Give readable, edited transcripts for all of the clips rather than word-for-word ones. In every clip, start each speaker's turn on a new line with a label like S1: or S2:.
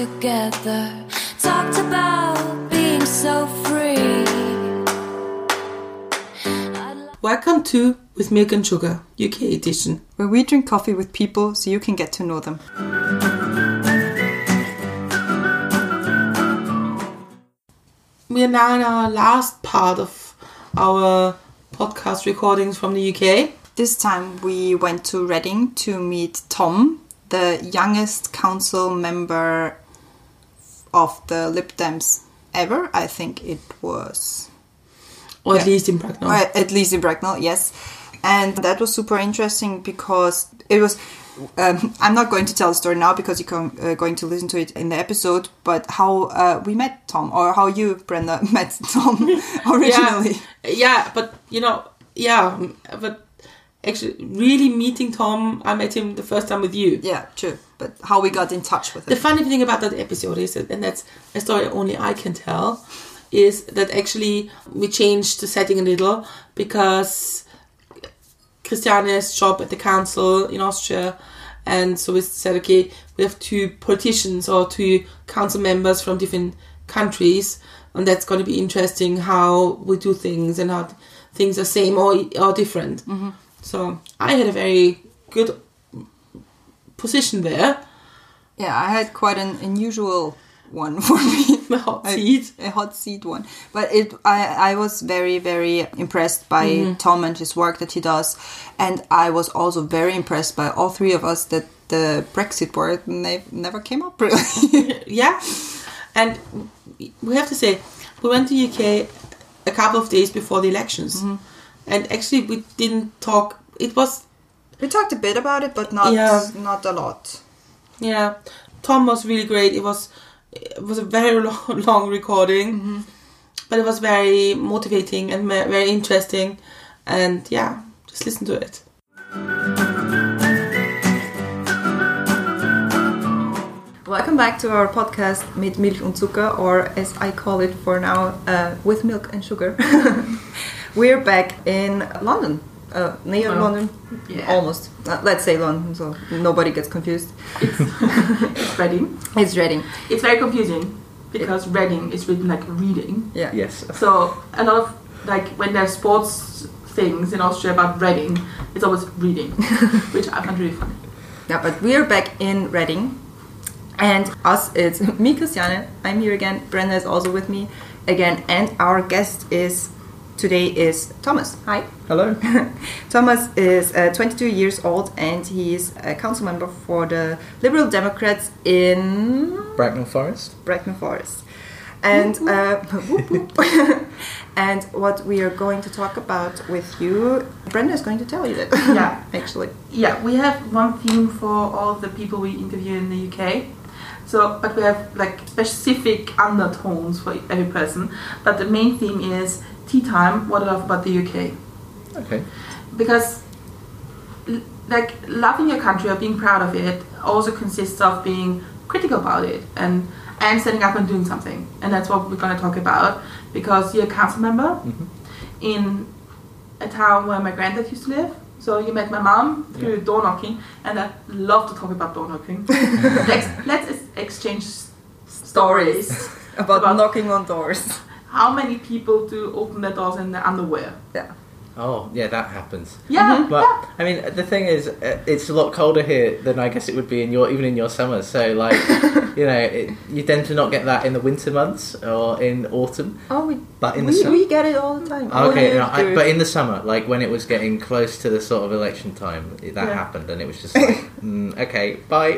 S1: together, talked about being so free.
S2: Welcome to With Milk and Sugar, UK edition,
S3: where we drink coffee with people so you can get to know them.
S2: We are now in our last part of our podcast recordings from the UK.
S3: This time we went to Reading to meet Tom, the youngest council member of the Lib Dems ever. I think it was.
S2: Or at least in Bracknell.
S3: At least in Bracknell, yes. And that was super interesting because it was... I'm not going to tell the story now because you're going to listen to it in the episode, but how we met Tom, or how you, Brenda, met Tom originally.
S2: But actually really meeting Tom, I met him the first time with you.
S3: Yeah, true. But how we got in touch with him.
S2: The funny thing about that episode is that, and that's a story only I can tell, is that actually we changed the setting a little because Christiane's job at the council in Austria, and so we said, okay, we have two politicians or two council members from different countries, and that's going to be interesting how we do things and how things are same or different. Mm-hmm. So I had a very good position there.
S3: Yeah, I had quite an unusual one for me.
S2: A hot seat.
S3: A hot seat one. But I was very, very impressed by Tom and his work that he does. And I was also very impressed by all three of us that the Brexit word never came up, really.
S2: Yeah. And we have to say, we went to UK a couple of days before the elections. Mm-hmm. And actually we didn't talk. We
S3: talked a bit about it, but not a lot.
S2: Yeah. Tom was really great. It was a very long recording, but it was very motivating and very interesting. And yeah, just listen to it.
S3: Welcome back to our podcast Mit Milch und Zucker, or as I call it for now, With Milk and Sugar. We're back in London. Near London?
S2: Yeah.
S3: Almost. Let's say London, so nobody gets confused.
S2: It's Reading.
S3: It's Reading.
S2: It's very confusing because Reading is written like reading.
S3: Yeah.
S4: Yes.
S2: So a lot of, like, when there's sports things in Austria about Reading, it's always reading, which I find really funny.
S3: Yeah, but we're back in Reading. And it's me, Christiane. I'm here again. Brenda is also with me again. And our guest today is Thomas. Hi.
S4: Hello.
S3: Thomas is 22 years old and he is a council member for the Liberal Democrats in
S4: Bracknell Forest.
S3: And and what we are going to talk about with you, Brenda is going to tell you that.
S2: Yeah.
S3: Actually.
S2: Yeah, we have one theme for all the people we interview in the UK. So, but we have like specific undertones for every person. But the main theme is tea time, what I love about the UK.
S4: Okay.
S2: Because like loving your country or being proud of it also consists of being critical about it and standing up and doing something. And that's what we're going to talk about, because you're a council member in a town where my granddad used to live. So you met my mom through door knocking, and I love to talk about door knocking. Let's exchange stories
S3: about knocking on doors.
S2: How many people do open their doors in their underwear?
S3: Yeah.
S4: Oh, yeah, that happens.
S2: Yeah.
S4: But, I mean, the thing is, it's a lot colder here than I guess it would be even in your summer. So, like, you tend to not get that in the winter months or in autumn.
S3: Oh,
S4: but in the summer,
S3: we get it all the time.
S4: Okay, but in the summer, like when it was getting close to the sort of election time, that happened, and it was just like, okay, bye.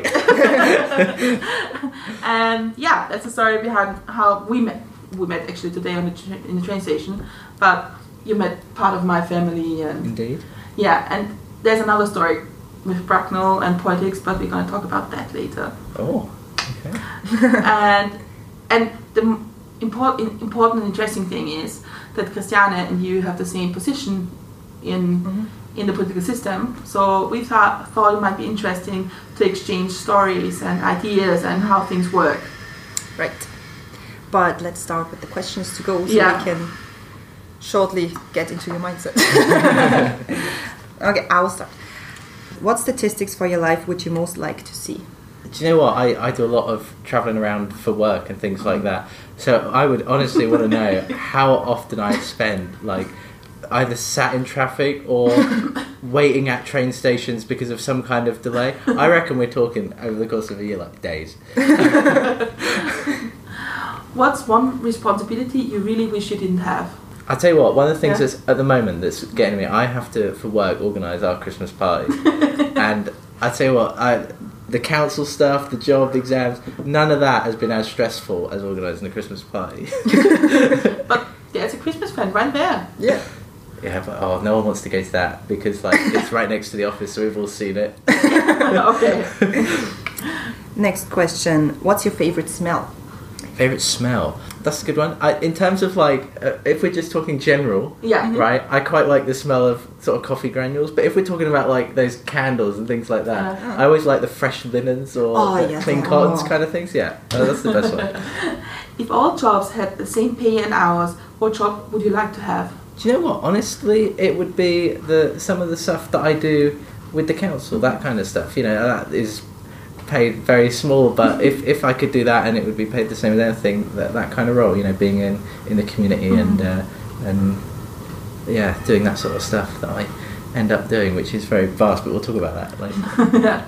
S2: And yeah, that's the story behind how we met. We met actually today in the train station, but you met part of my family. And
S4: indeed.
S2: Yeah, and there's another story with Bracknell and politics, but we're going to talk about that later.
S4: Oh, okay.
S2: and the important and interesting thing is that Christiane and you have the same position in the political system. So we thought it might be interesting to exchange stories and ideas and how things work.
S3: Right. But let's start with the questions to go so we can shortly get into your mindset. Okay, I will start. What statistics for your life would you most like to see?
S4: Do you know what? I do a lot of travelling around for work and things like that. So I would honestly want to know how often I spend like either sat in traffic or waiting at train stations because of some kind of delay. I reckon we're talking over the course of a year, like days.
S2: What's one responsibility you really wish you didn't have?
S4: I'll tell you what, one of the things that's at the moment that's getting me, I have to, for work, organise our Christmas party. And I tell you what, the council stuff, the job, the exams, none of that has been as stressful as organising a Christmas party.
S2: But there's a Christmas fan right there.
S3: Yeah.
S4: Yeah, but no one wants to go to that because like it's right next to the office, so we've all seen it.
S2: Okay.
S3: Next question. What's your favourite smell?
S4: Favourite smell? That's a good one. In terms of like, if we're just talking general, right, I quite like the smell of sort of coffee granules, but if we're talking about like those candles and things like that, I always like the fresh linens or clean cottons kind of things. Yeah, that's the best one.
S2: If all jobs had the same pay and hours, what job would you like to have?
S4: Do you know what? Honestly, it would be some of the stuff that I do with the council, that kind of stuff. You know, that is paid very small, but if I could do that and it would be paid the same as anything, that kind of role, you know, being in the community and doing that sort of stuff that I end up doing, which is very vast, but we'll talk about that later.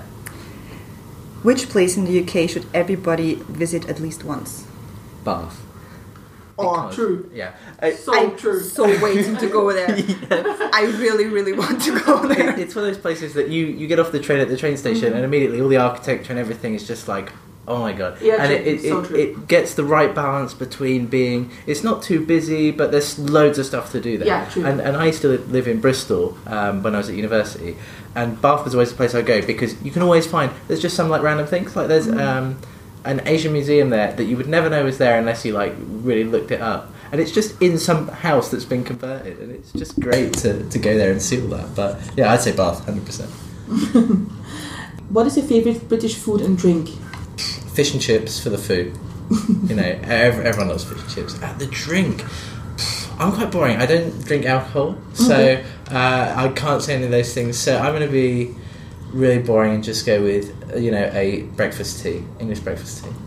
S3: Which place in the UK should everybody visit at least once?
S4: Bath.
S2: Oh, true.
S4: Yeah.
S2: True.
S3: So waiting to go there. I really, really want to go there.
S4: It's one of those places that you get off the train at the train station and immediately all the architecture and everything is just like, oh my god.
S2: Yeah,
S4: and
S2: true.
S4: it gets the right balance between being, it's not too busy, but there's loads of stuff to do there.
S2: Yeah, true.
S4: And I used to live in Bristol when I was at university, and Bath was always the place I go because you can always find, there's just some like random things, like there's an Asian museum there that you would never know was there unless you like really looked it up, and it's just in some house that's been converted, and it's just great to go there and see all that. But yeah, I'd say Bath 100%.
S2: What is your favourite British food and drink?
S4: Fish and chips for the food. You know, everyone loves fish and chips. The drink, I'm quite boring. I don't drink alcohol, so I can't say any of those things, so I'm going to be really boring and just go with, you know, a breakfast tea, English breakfast tea.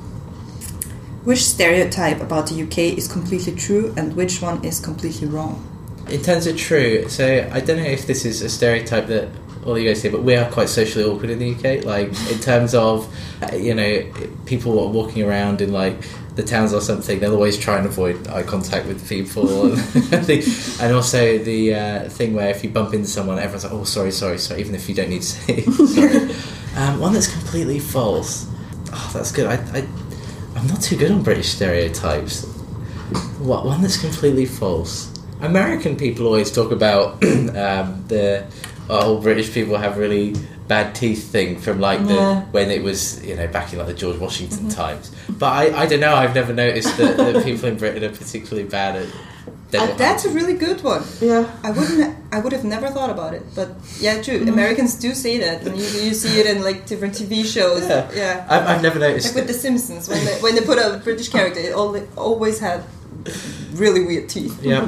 S3: Which stereotype about the UK is completely true and which one is completely wrong?
S4: In terms of true, so I don't know if this is a stereotype that all you guys say, but we are quite socially awkward in the UK. Like in terms of, you know, people are walking around in like the towns or something, they'll always try and avoid eye contact with people. And also the thing where if you bump into someone, everyone's like, oh, sorry, even if you don't need to say sorry. One that's completely false. Oh, that's good. I'm not too good on British stereotypes. What one that's completely false? American people always talk about all British people have really bad teeth thing from like when it was, you know, back in like the George Washington times. But I don't know, I've never noticed that people in Britain are particularly bad at
S3: that's a really good one.
S2: Yeah.
S3: I would have never thought about it, but yeah, true. Americans do say that, and you see it in like different TV shows. Yeah.
S4: I've never noticed.
S3: Like with The Simpsons, when they put a British character, it always had really weird teeth.
S4: Yeah.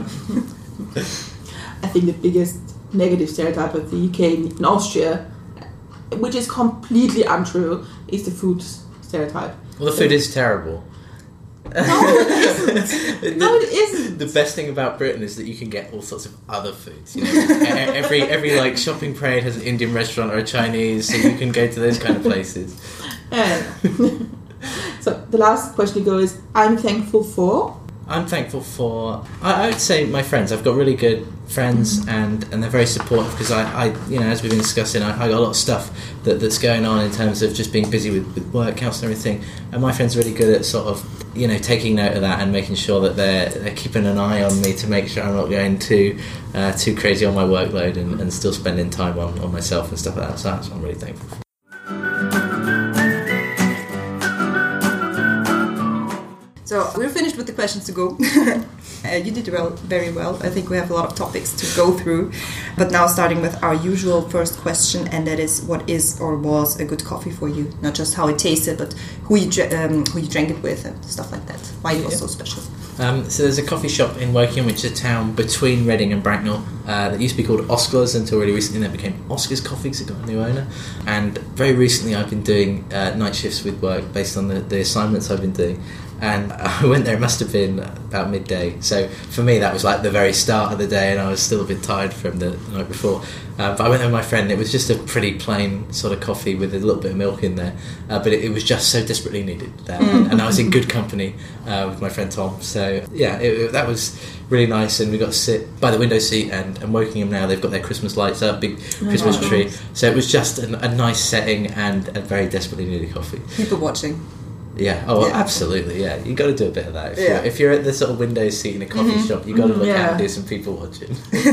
S2: I think the biggest negative stereotype of the UK and Austria, which is completely untrue, is the food stereotype.
S4: Well, the food is terrible.
S2: No, it isn't. No, it isn't.
S4: The best thing about Britain is that you can get all sorts of other foods. You know, every like shopping parade has an Indian restaurant or a Chinese, so you can go to those kind of places.
S2: Yeah. So the last question to go is: I'm thankful for.
S4: I'm thankful for, I would say, my friends. I've got really good friends, and they're very supportive because I you know, as we've been discussing, I got a lot of stuff that's going on in terms of just being busy with work, house and everything, and my friends are really good at sort of, you know, taking note of that and making sure that they're keeping an eye on me to make sure I'm not going too crazy on my workload and still spending time on myself and stuff like that. So that's what I'm really thankful for.
S3: So we're finished with the questions to go. You did very well. I think we have a lot of topics to go through. But now starting with our usual first question, and that is, what is or was a good coffee for you? Not just how it tasted, but who you drank it with and stuff like that. Why it was so special.
S4: So there's a coffee shop in Woking, which is a town between Reading and Bracknell, that used to be called Oscar's until really recently. That became Oscar's Coffee because it got a new owner. And very recently I've been doing night shifts with work based on the assignments I've been doing. And I went there, it must have been about midday. So for me, that was like the very start of the day, and I was still a bit tired from the night before. But I went there with my friend, and it was just a pretty plain sort of coffee with a little bit of milk in there. But it was just so desperately needed there. And I was in good company with my friend Tom. So yeah, that was really nice. And we got to sit by the window seat, and Wokingham now, they've got their Christmas lights up, big Christmas tree. So it was just a nice setting and a very desperately needed coffee.
S3: People watching.
S4: Yeah. Oh, yeah. Absolutely. Yeah, you got to do a bit of that. If you're at the sort of window seat in a coffee shop, you got to look out and do some people watching.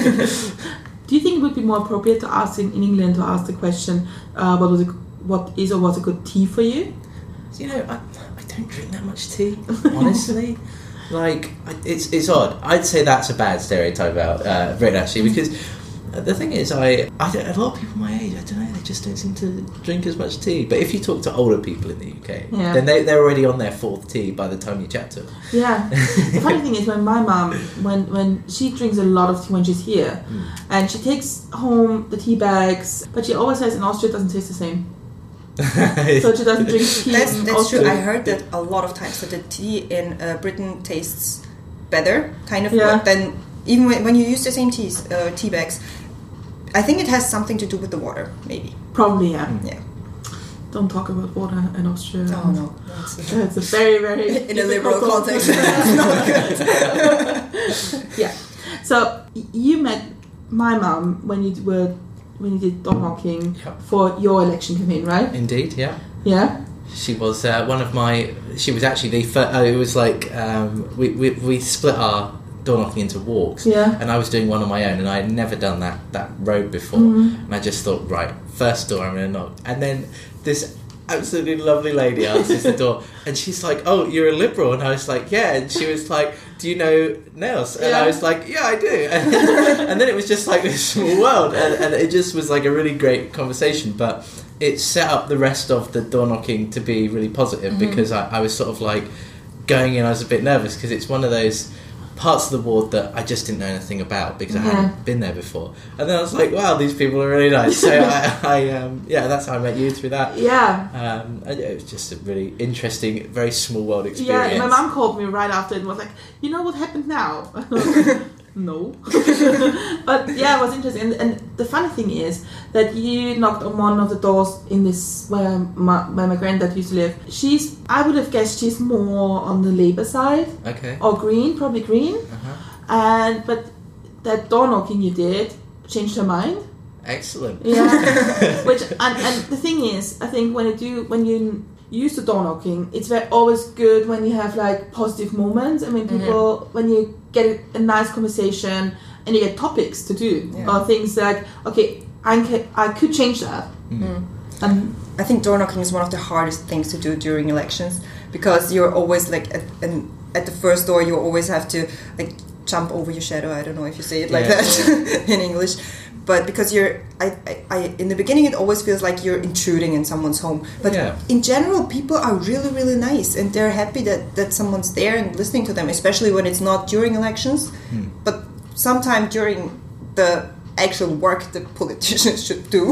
S2: Do you think it would be more appropriate to ask in England to ask the question, what is or was a good tea for you?
S4: You know, I don't drink that much tea, honestly. Like, it's odd. I'd say that's a bad stereotype about Britain, actually, because the thing is, a lot of people my age, I don't know, they just don't seem to drink as much tea. But if you talk to older people in the UK, then they're already on their fourth tea by the time you chat to them. Yeah.
S2: The funny thing is, when my mum, when she drinks a lot of tea when she's here, and she takes home the tea bags, but she always says in Austria it doesn't taste the same. So she doesn't drink tea.
S3: That's true. I heard that a lot of times that the tea in Britain tastes better, kind of, than even when you use the same tea bags. I think it has something to do with the water, maybe.
S2: Probably, yeah. Don't talk about water in Austria.
S3: Oh, no.
S2: It's a very, very...
S3: in a liberal context. It's not good.
S2: Yeah. So, you met my mum when you did door knocking for your election campaign, right?
S4: Indeed, yeah.
S2: Yeah?
S4: She was one of my... She was actually the first... it was like... we split our door knocking into walks, and I was doing one on my own, and I had never done that road before, and I just thought, right, first door I'm going to knock, and then this absolutely lovely lady answers the door, and she's like, oh, you're a Liberal, and I was like, yeah, and she was like, do you know Nels? And I was like, yeah, I do, and then it was just like this small world, and it just was like a really great conversation, but it set up the rest of the door knocking to be really positive, because I was sort of like going in, I was a bit nervous, because it's one of those parts of the ward that I just didn't know anything about because I hadn't been there before, and then I was like, wow, these people are really nice. So that's how I met you, through that. It was just a really interesting, very small world experience.
S2: My mum called me right after and was like, you know what happened now? No. But it was interesting, and the funny thing is that you knocked on one of the doors in this where my granddad used to live. I would have guessed she's more on the Labour side, or Green, probably Green, but that door knocking you did changed her mind.
S4: Excellent.
S2: Yeah. and the thing is, I think when you use the door knocking, it's always good when you have like positive moments. I mean, people, when you get a nice conversation and you get topics to do, or things like, okay, I could change that. And
S3: I think door knocking is one of the hardest things to do during elections, because you're always like at the first door, you always have to like jump over your shadow. I don't know if you say it like that in English. But because I in the beginning, it always feels like you're intruding in someone's home. But in general, people are really, really nice, and they're happy that someone's there and listening to them, especially when it's not during elections, but sometime during the actual work that politicians should do.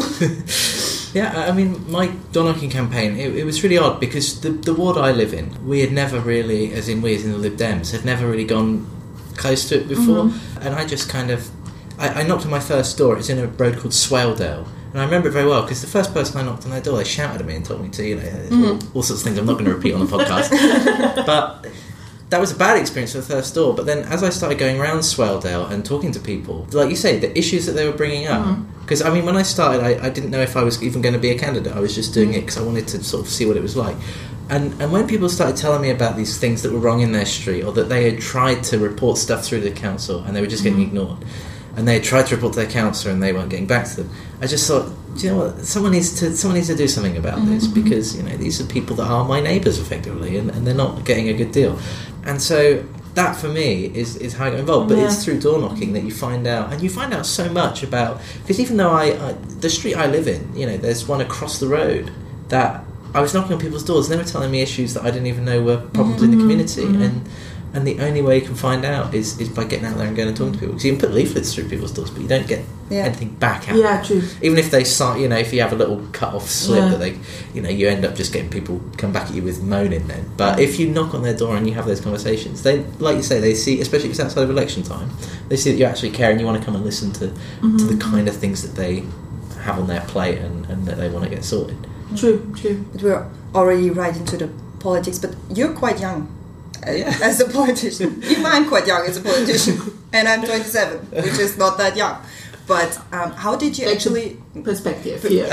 S4: I mean, my door knocking campaign, it was really odd, because the ward I live in, we had never really, as in we as in the Lib Dems, had never really gone close to it before, and I just kind of... I knocked on my first door. It's in a road called Swaledale, and I remember it very well because the first person I knocked on their door, they shouted at me and told me to, all sorts of things I'm not going to repeat on the podcast. But that was a bad experience for the first door. But then, as I started going around Swaledale and talking to people, like you say, the issues that they were bringing up. Because I mean, when I started, I didn't know if I was even going to be a candidate. I was just doing it because I wanted to sort of see what it was like. And when people started telling me about these things that were wrong in their street, or that they had tried to report stuff through the council and they were just getting ignored, and they tried to report to their counsellor and they weren't getting back to them, I just thought, do you know what, someone needs to do something about this, because these are people that are my neighbours effectively, and they're not getting a good deal. And so that for me is how I got involved. But
S2: Yeah.
S4: it's through door knocking that you find out, and you find out so much about. Because even though the street I live in, you know, there's one across the road that I was knocking on people's doors, and they were telling me issues that I didn't even know were problems in the community, and the only way you can find out is by getting out there and going and talking to people. Because you can put leaflets through people's doors, but you don't get anything back out.
S2: Yeah, true.
S4: Even if they start, you know, if you have a little cut-off slip
S2: Yeah.
S4: that they, you know, you end up just getting people come back at you with moaning then. But if you knock on their door and you have those conversations, they, like you say, they see, especially if it's outside of election time, they see that you actually care and you want to come and listen to the kind of things that they have on their plate and that they want to get sorted.
S2: True.
S3: But we're already right into the politics, but you're quite young as a politician. Even I'm quite young as a politician, and I'm 27, which is not that young. But how did you actually
S2: perspective here?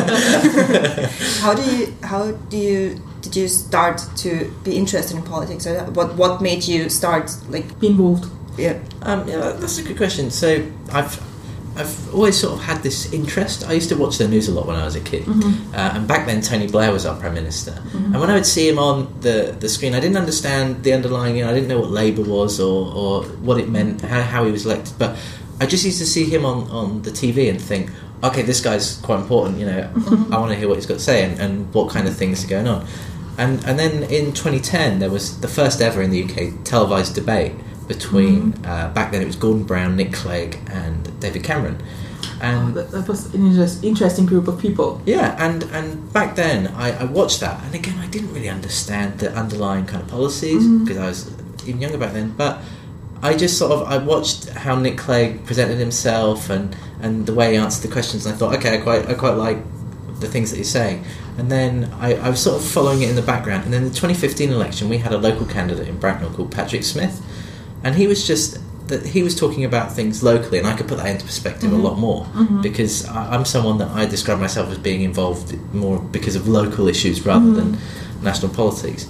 S3: did you start to be interested in politics, or what made you start
S2: Be involved.
S3: Yeah.
S4: Yeah, that's a good question. So I've always sort of had this interest. I used to watch the news a lot when I was a kid, and back then Tony Blair was our Prime Minister. And when I would see him on the screen, I didn't understand the underlying. You know, I didn't know what Labour was or what it meant, how he was elected. But I just used to see him on the TV and think, okay, this guy's quite important. You know, I want to hear what he's got to say and what kind of things are going on. And then in 2010, there was the first ever in the UK televised debate between back then it was Gordon Brown, Nick Clegg, and David Cameron, and
S2: That was an interesting group of people.
S4: yeah, and back then I watched that, and again I didn't really understand the underlying kind of policies because I was even younger back then. But I just I watched how Nick Clegg presented himself and the way he answered the questions, and I thought, okay, I quite like the things that he's saying. And then I was sort of following it in the background. And then the 2015 election, we had a local candidate in Bracknell called Patrick Smith. And he was talking about things locally, and I could put that into perspective a lot more because I'm someone that I describe myself as being involved more because of local issues rather than national politics.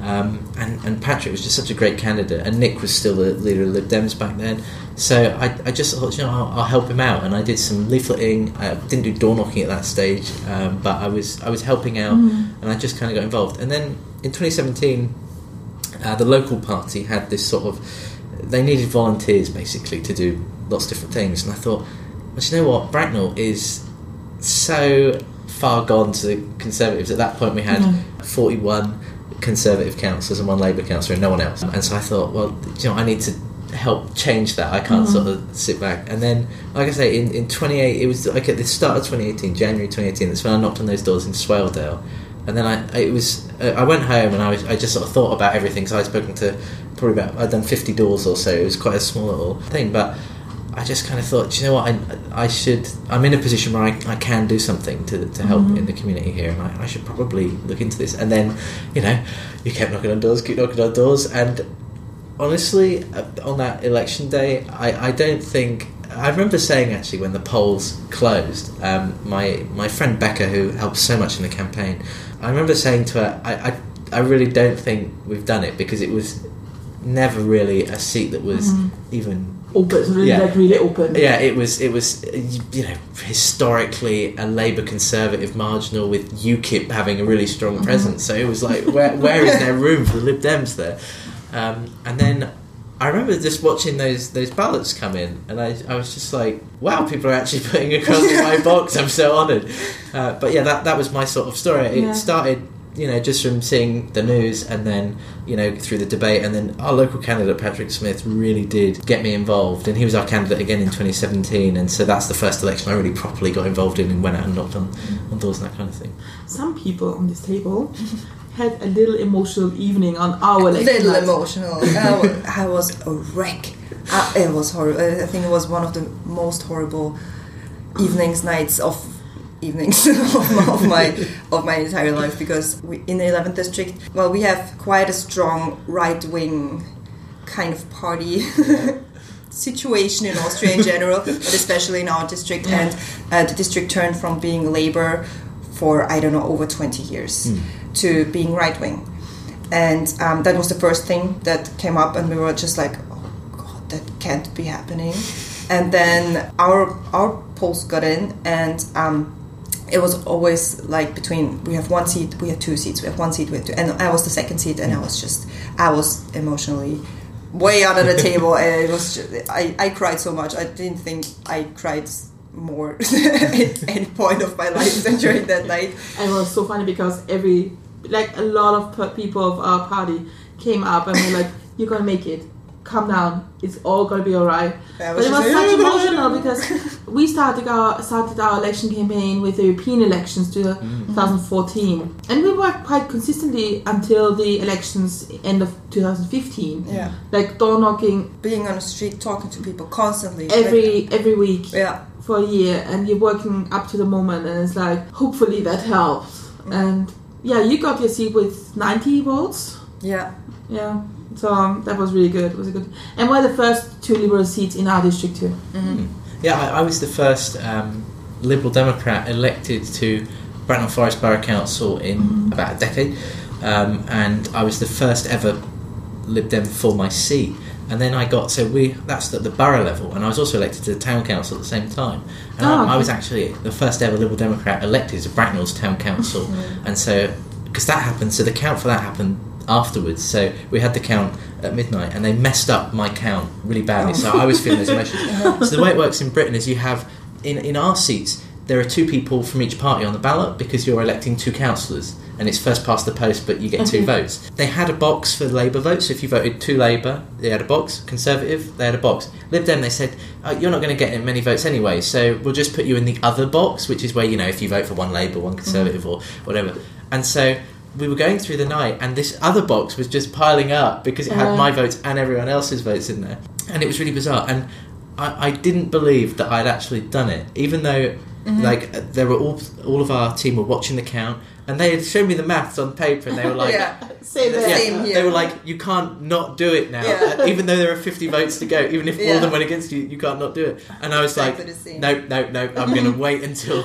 S4: And Patrick was just such a great candidate, and Nick was still the leader of Lib Dems back then. So I just thought, you know, I'll help him out, and I did some leafleting. I didn't do door knocking at that stage, but I was helping out, and I just kind of got involved. And then in 2017, the local party had this sort of. They needed volunteers basically to do lots of different things, and I thought, well, you know what, Bracknell is so far gone to the Conservatives. At that point, we had 41 Conservative councillors and one Labour councillor, and no one else. And so I thought, well, you know, I need to help change that. I can't sort of sit back. And then, like I say, in 28, it was like at the start of 2018, January 2018. That's when I knocked on those doors in Swaledale. And then I went home and I just sort of thought about everything. So I'd spoken to I'd done 50 doors or so. It was quite a small little thing, but I just kind of thought, you know what, I'm in a position where I can do something to help in the community here, and I should probably look into this. And then, you know, you keep knocking on doors, and honestly, on that election day, I don't think. I remember saying, actually, when the polls closed, my friend Becca, who helped so much in the campaign, I remember saying to her, I really don't think we've done it, because it was never really a seat that was even
S2: open, really open.
S4: Yeah, it was you know, historically a Labour Conservative marginal with UKIP having a really strong presence. So it was like, where is there room for the Lib Dems there? And then I remember just watching those ballots come in, and I was just like, wow, people are actually putting across my box. I'm so honoured. But yeah, that was my sort of story. It started, you know, just from seeing the news, and then, you know, through the debate, and then our local candidate Patrick Smith really did get me involved, and he was our candidate again in 2017, and so that's the first election I really properly got involved in and went out and knocked on doors and that kind of thing.
S2: Some people on this table had a little emotional evening on our election night.
S3: Emotional. I was a wreck. It was horrible. I think it was one of the most horrible nights of my entire life, because in the 11th district, well, we have quite a strong right-wing kind of party situation in Austria in general, but especially in our district. And the district turned from being Labour for, I don't know, over 20 years to being right-wing. And that was the first thing that came up, and we were just like, oh God, that can't be happening. And then our polls got in, and it was always like we have one seat, we have two seats, we have one seat, we have two, and I was the second seat, and I was emotionally way under the table, and it was I cried so much. I didn't think I cried more at any point of my life than during that night.
S2: And it was so funny because a lot of people of our party came up and were like, "You're gonna make it. Calm down. It's all gonna be alright." But it was such emotional because we started our election campaign with the European elections to 2014, and we worked quite consistently until the elections end of 2015.
S3: Yeah,
S2: like door knocking,
S3: being on the street, talking to people constantly,
S2: every week.
S3: Yeah.
S2: For a year, and you're working up to the moment, and it's like, hopefully that helps. And yeah, you got your seat with 90 votes.
S3: Yeah.
S2: So that was really good. It was a good, and we're the first 2 Liberal seats in our district too.
S3: Mm-hmm.
S4: Yeah, I was the first Liberal Democrat elected to Bracknell Forest Borough Council in about a decade, and I was the first ever Lib Dem for my seat. And then that's at the borough level, and I was also elected to the town council at the same time. And I was actually the first ever Liberal Democrat elected to Bracknell's town council. And so, because that happened, so the count for that happened afterwards. So we had the count at midnight, and they messed up my count really badly. So I was feeling those emotions. So the way it works in Britain is you have, in our seats, there are 2 people from each party on the ballot because you're electing 2 councillors. And it's first past the post, but you get 2 votes. They had a box for Labour votes, so if you voted to Labour, they had a box. Conservative, they had a box. Lib Dem, they said, you're not going to get many votes anyway, so we'll just put you in the other box, which is where, if you vote for one Labour, one Conservative, or whatever. And so we were going through the night, and this other box was just piling up because it had my votes and everyone else's votes in there. And it was really bizarre. And I didn't believe that I'd actually done it, even though there were all of our team were watching the count, and they had shown me the maths on paper, and they were like,
S3: same here.
S4: They were like, you can't not do it now, even though there are 50 votes to go, even if all of them went against you, you can't not do it. And I was like, no, I'm going to wait until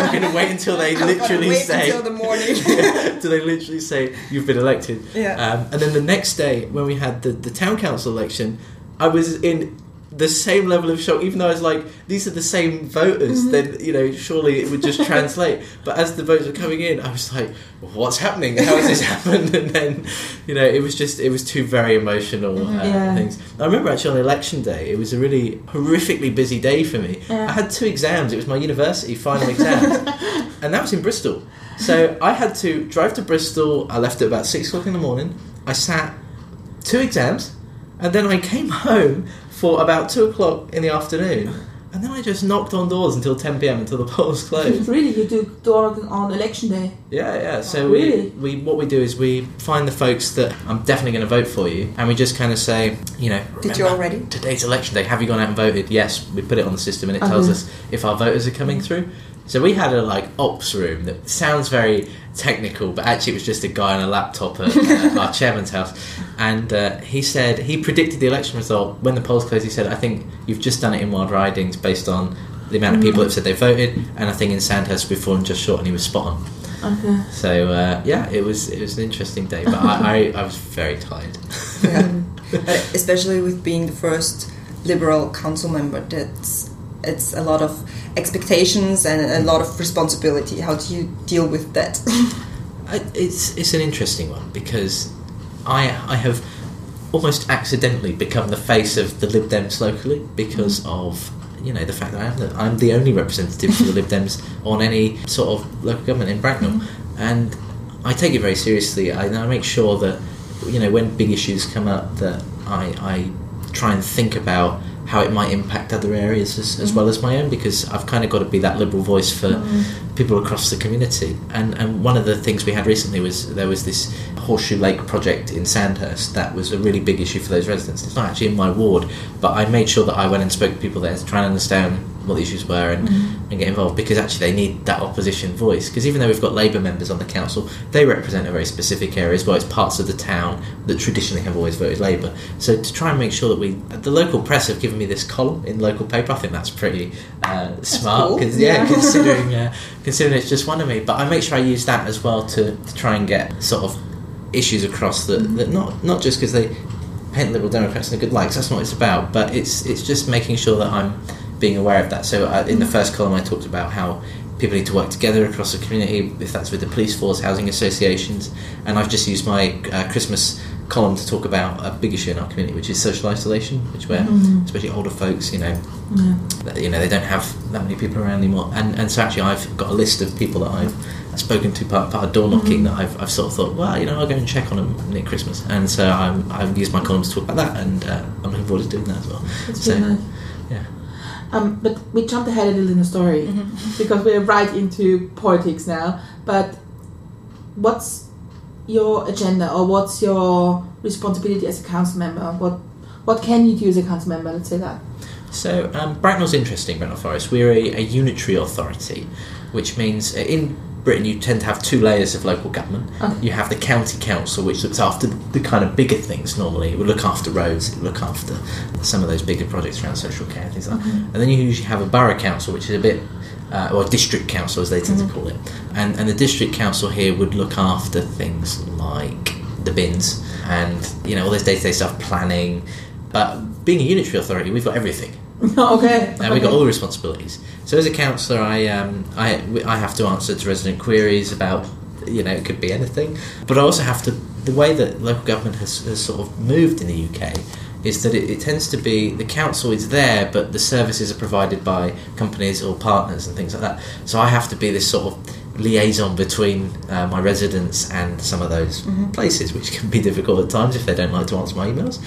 S4: they literally say
S3: until the morning.
S4: till they literally say you've been elected. And then the next day when we had the town council election, I was in the same level of shock, even though I was like, these are the same voters, then, surely it would just translate. But as the votes were coming in, I was like, what's happening? How has this happened? And then, it was 2 very emotional things. I remember actually on election day, it was a really horrifically busy day for me. I had 2 exams. It was my university final exams. And that was in Bristol. So I had to drive to Bristol. I left at about 6 o'clock in the morning. I sat 2 exams, and then I came home for about 2 o'clock in the afternoon, and then I just knocked on doors until 10 p.m. until the polls closed.
S2: Really? You do door knocking on election day?
S4: Yeah. So
S2: really?
S4: what we do is we find the folks that I'm definitely going to vote for you, and we just kind of say,
S3: did you already?
S4: Today's election day. Have you gone out and voted? Yes. We put it on the system, and it tells us if our voters are coming through. So we had a ops room that sounds very technical, but actually it was just a guy on a laptop at our chairman's house, and he predicted the election result when the polls closed. He said, I think you've just done it in Wild Ridings based on the amount of people that have said they voted, and I think in Sandhurst we've fallen just short, and he was spot on.
S2: Okay.
S4: So it was an interesting day, but I was very tired.
S3: Especially with being the first Liberal council member, it's a lot of expectations and a lot of responsibility. How do you deal with that?
S4: It's an interesting one because I have almost accidentally become the face of the Lib Dems locally because of the fact that I'm the only representative for the Lib Dems on any sort of local government in Bracknell, and I take it very seriously. I make sure that when big issues come up that I try and think about how it might impact other areas as well as my own, because I've kind of got to be that liberal voice for people across the community. And one of the things we had recently was there was this Horseshoe Lake project in Sandhurst that was a really big issue for those residents. It's not actually in my ward, but I made sure that I went and spoke to people there to try and understand what the issues were and get involved, because actually they need that opposition voice, because even though we've got Labour members on the council, they represent a very specific area as well. It's parts of the town that traditionally have always voted Labour. So to try and make sure that the local press have given me this column in the local paper, I think that's pretty smart, because considering it's just one of me, but I make sure I use that as well to try and get sort of issues across that not just because they paint Liberal Democrats in a good light, 'cause that's not what it's about, but it's just making sure that I'm being aware of that. So in the first column I talked about how people need to work together across the community, if that's with the police force, housing associations, and I've just used my Christmas column to talk about a big issue in our community, which is social isolation, which where especially older folks, they don't have that many people around anymore, and so actually I've got a list of people that I've spoken to part of door knocking that I've sort of thought, well, I'll go and check on them near Christmas, and so I've used my columns to talk about that, and I'm looking forward to doing that as well.
S2: That's really nice.
S4: Yeah.
S2: But we jumped ahead a little in the story because we're right into politics now. But what's your agenda, or what's your responsibility as a council member? What can you do as a council member? Let's say that.
S4: So Bracknell's interesting, Bracknell Forest. We're a unitary authority, which means in Britain you tend to have two layers of local government.
S2: Okay.
S4: You have the county council, which looks after the kind of bigger things normally. It would look after roads, it would look after some of those bigger projects around social care and things like that. And then you usually have a borough council, which is a bit, or district council as they tend to call it. And the district council here would look after things like the bins and, all those day-to-day stuff, planning. But being a unitary authority, we've got everything.
S2: Okay.
S4: And we've got all the responsibilities. So as a councillor, I have to answer to resident queries about, it could be anything. But I also have to, the way that local government has sort of moved in the UK is that it tends to be, the council is there, but the services are provided by companies or partners and things like that. So I have to be this sort of liaison between my residents and some of those places, which can be difficult at times if they don't like to answer my emails.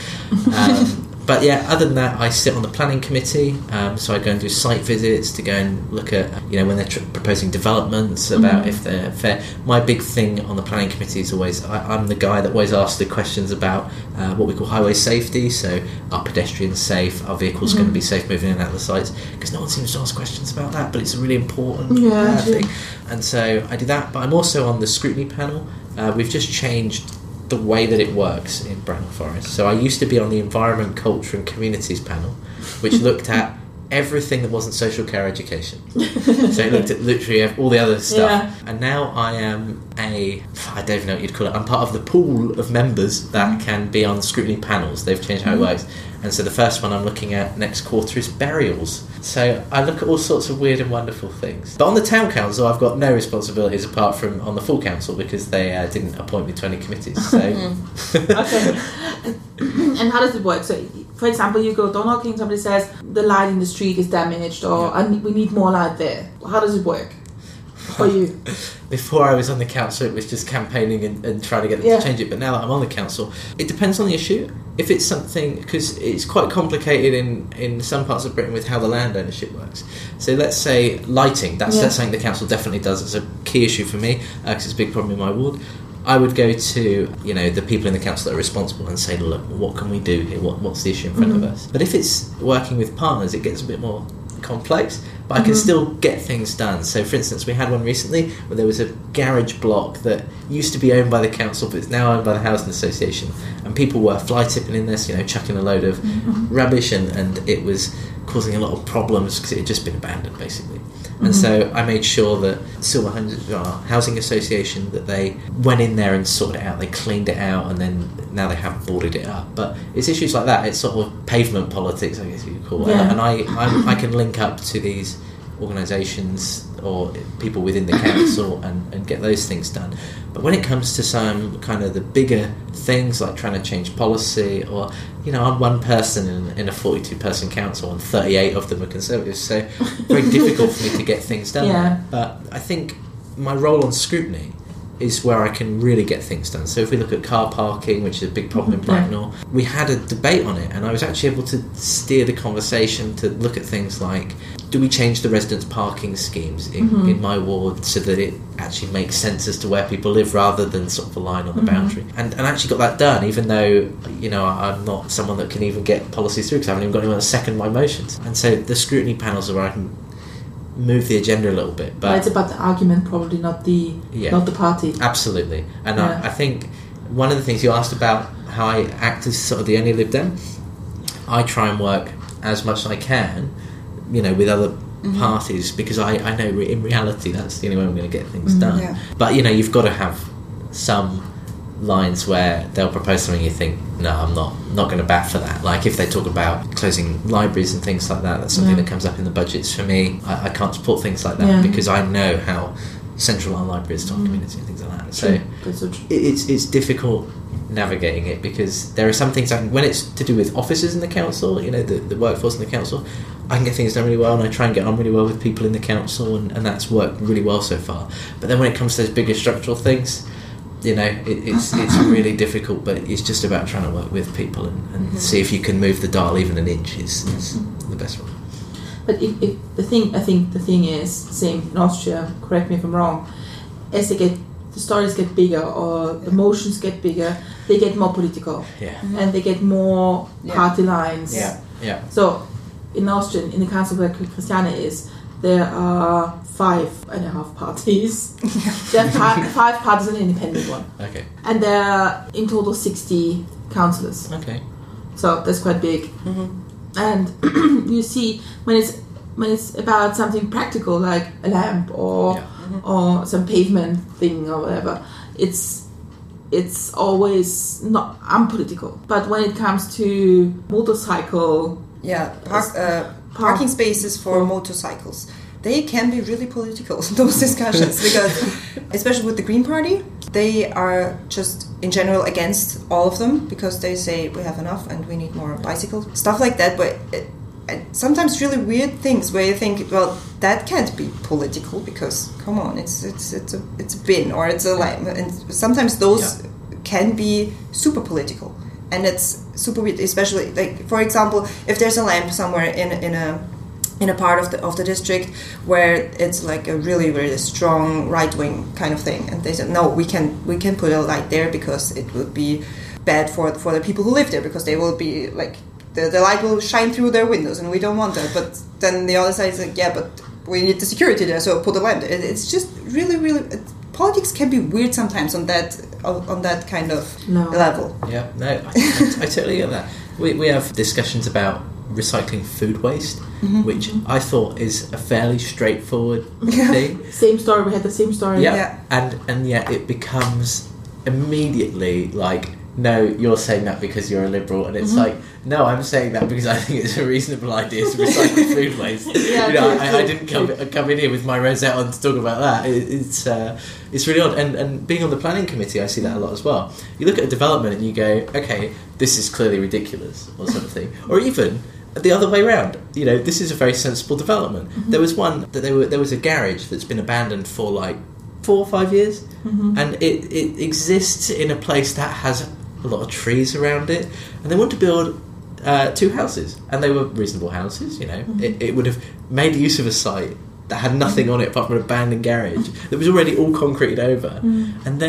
S4: But yeah, other than that, I sit on the planning committee, so I go and do site visits to go and look at, when they're proposing developments, about if they're fair. My big thing on the planning committee is always, I'm the guy that always asks the questions about what we call highway safety, so are pedestrians safe, are vehicles going to be safe moving in and out of the sites, because no one seems to ask questions about that, but it's a really important thing. And so I do that, but I'm also on the scrutiny panel. We've just changed the way that it works in Bracknell Forest. So I used to be on the Environment, Culture and Communities panel, which looked at everything that wasn't social care education. So it looked at literally all the other stuff.
S2: Yeah.
S4: And now I am I don't even know what you'd call it, I'm part of the pool of members that can be on scrutiny panels. They've changed how it works. And so the first one I'm looking at next quarter is burials. So I look at all sorts of weird and wonderful things. But on the town council, I've got no responsibilities apart from on the full council, because they didn't appoint me to any committees. So.
S2: Okay. And how does it work? So, for example, you go door knocking, somebody says the light in the street is damaged, or we need more light there. How does it work for you?
S4: Before I was on the council, it was just campaigning and trying to get them to change it. But now that I'm on the council, it depends on the issue. If it's something, because it's quite complicated in some parts of Britain with how the land ownership works. So let's say lighting, that's something the council definitely does. It's a key issue for me, because it's a big problem in my ward. I would go to, the people in the council that are responsible and say, look, what can we do here? What's the issue in front of us? But if it's working with partners, it gets a bit more complex, but I can still get things done. So for instance, we had one recently where there was a garage block that used to be owned by the council, but it's now owned by the Housing Association, and people were fly tipping in this, chucking a load of rubbish, and it was causing a lot of problems because it had just been abandoned basically. And so I made sure that Silver Homes, our housing association, that they went in there and sorted it out. They cleaned it out, and then now they have boarded it up. But it's issues like that. It's sort of pavement politics, I guess you could call it. And I can link up to these organisations or people within the council and get those things done. But when it comes to some kind of the bigger things like trying to change policy, or I'm one person in a 42-person council and 38 of them are Conservatives, so very difficult for me to get things done. But I think my role on scrutiny is where I can really get things done. So if we look at car parking, which is a big problem in Bracknell, we had a debate on it, and I was actually able to steer the conversation to look at things like, do we change the residents' parking schemes in my ward so that it actually makes sense as to where people live rather than sort of a line on the boundary? And I actually got that done, even though, I'm not someone that can even get policies through because I haven't even got anyone to second my motions. And so the scrutiny panels are where I can move the agenda a little bit. But
S2: it's about the argument, probably not the party.
S4: Absolutely. And I think one of the things you asked about how I act as sort of the only Lib Dem, I try and work as much as I can, with other parties, because I know in reality that's the only way I'm going to get things done. But you've got to have some lines where they'll propose something you think, no, I'm not going to bat for that. Like if they talk about closing libraries and things like that, that's something that comes up in the budgets for me. I can't support things like that because I know how central line libraries, Tom community and things like that. So
S2: That's so true.
S4: it's difficult navigating it, because there are some things when it's to do with officers in the council, you know, the workforce in the council, I can get things done really well, and I try and get on really well with people in the council, and that's worked really well so far. But then when it comes to those bigger structural things, you know, it's really difficult, but it's just about trying to work with people and see if you can move the dial even an inch is the best one.
S2: But if the thing is same in Austria. Correct me if I'm wrong. As the stories get bigger or the emotions get bigger, they get more political, and they get more party lines.
S4: Yeah.
S2: So in Austria, in the council where Christiane is, there are 5.5 parties. There are 5 parties and an independent one.
S4: Okay.
S2: And there are in total 60 councillors.
S4: Okay.
S2: So that's quite big. And you see when it's about something practical like a lamp or some pavement thing or whatever, it's always not unpolitical. But when it comes to motorcycle,
S3: parking spaces for motorcycles, they can be really political, those discussions, because especially with the Green Party, they are just in general against all of them, because they say we have enough and we need more bicycles, stuff like that. But sometimes really weird things where you think, well, that can't be political, because come on, it's a bin or it's a lime, and sometimes those can be super political, and it's super weird, especially like, for example, if there's a lamp somewhere in a part of the district where it's like a really, really strong right-wing kind of thing, and they said, no, we can put a light there because it would be bad for the people who live there, because they will be like, the light will shine through their windows, and we don't want that. But then the other side is like, yeah, but we need the security there, so put a lamp there. It's just really, really, politics can be weird sometimes on that kind of level.
S4: Yeah, no, I totally get that. We have discussions about recycling food waste, which I thought is a fairly straightforward thing.
S2: Same story. We had the same story.
S4: Yeah. And yet it becomes immediately like, no, you're saying that because you're a liberal, and it's like, no, I'm saying that because I think it's a reasonable idea to recycle food waste. I didn't come in here with my rosette on to talk about that. It's really odd, and being on the planning committee, I see that a lot as well. You look at a development and you go, okay, this is clearly ridiculous, or something, or even the other way around. You know, this is a very sensible development. There was one that there was a garage that's been abandoned for like 4 or 5 years, and it exists in a place that has a lot of trees around it, and they want to build 2 houses, and they were reasonable houses. You know, it would have made use of a site that had nothing on it apart from an abandoned garage that was already all concreted over, and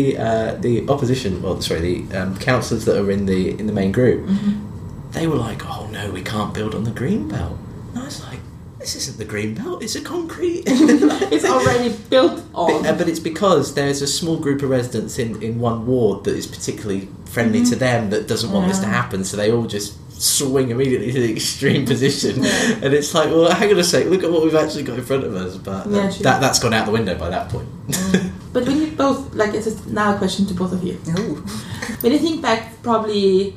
S4: the opposition, the councillors that are in the main group, they were like, oh no, we can't build on the green belt. And I was like, this isn't the green belt, it's a concrete.
S2: It's already built on.
S4: But it's because there's a small group of residents in one ward that is particularly friendly to them that doesn't want this to happen, so they all just swing immediately to the extreme position. And it's like, well, hang on a sec, look at what we've actually got in front of us. But that's gone out the window by that point.
S2: But when you both, like, it's now a question to both of you.
S3: Ooh.
S2: When you think back probably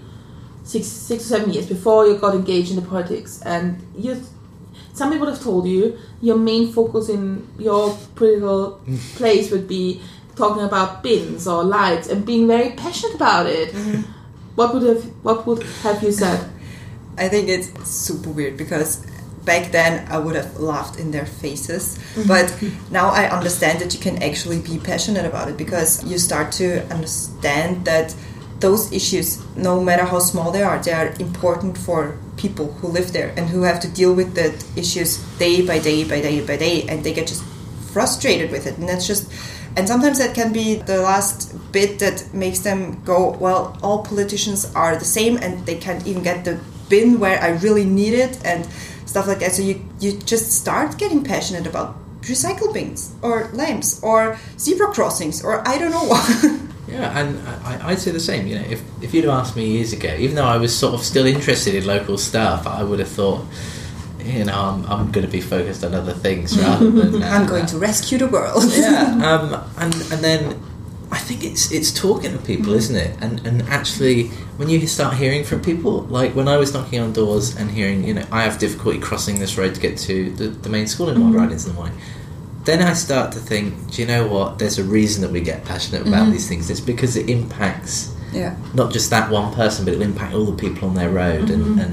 S2: 6 or 7 years before you got engaged in the politics, and somebody would have told you your main focus in your political place would be talking about bins or lights and being very passionate about it. What would have you said?
S3: I think it's super weird, because back then I would have laughed in their faces, but now I understand that you can actually be passionate about it, because you start to understand that those issues, no matter how small they are important for people who live there and who have to deal with the issues day by day by day by day, and they get just frustrated with it. And sometimes that can be the last bit that makes them go, well, all politicians are the same and they can't even get the bin where I really need it, and stuff like that. So you just start getting passionate about recycle bins or lamps or zebra crossings or I don't know what.
S4: Yeah, and I'd say the same. You know, if you'd have asked me years ago, even though I was sort of still interested in local stuff, I would have thought, you know, I'm going to be focused on other things rather than
S3: I'm going to rescue the world.
S4: Yeah, and then I think it's talking to people, isn't it? And actually, when you start hearing from people, like when I was knocking on doors and hearing, you know, I have difficulty crossing this road to get to the main school in Wild Ridings in the morning. then I start to think, do you know what? There's a reason that we get passionate about these things. It's because it impacts not just that one person, but it'll impact all the people on their road.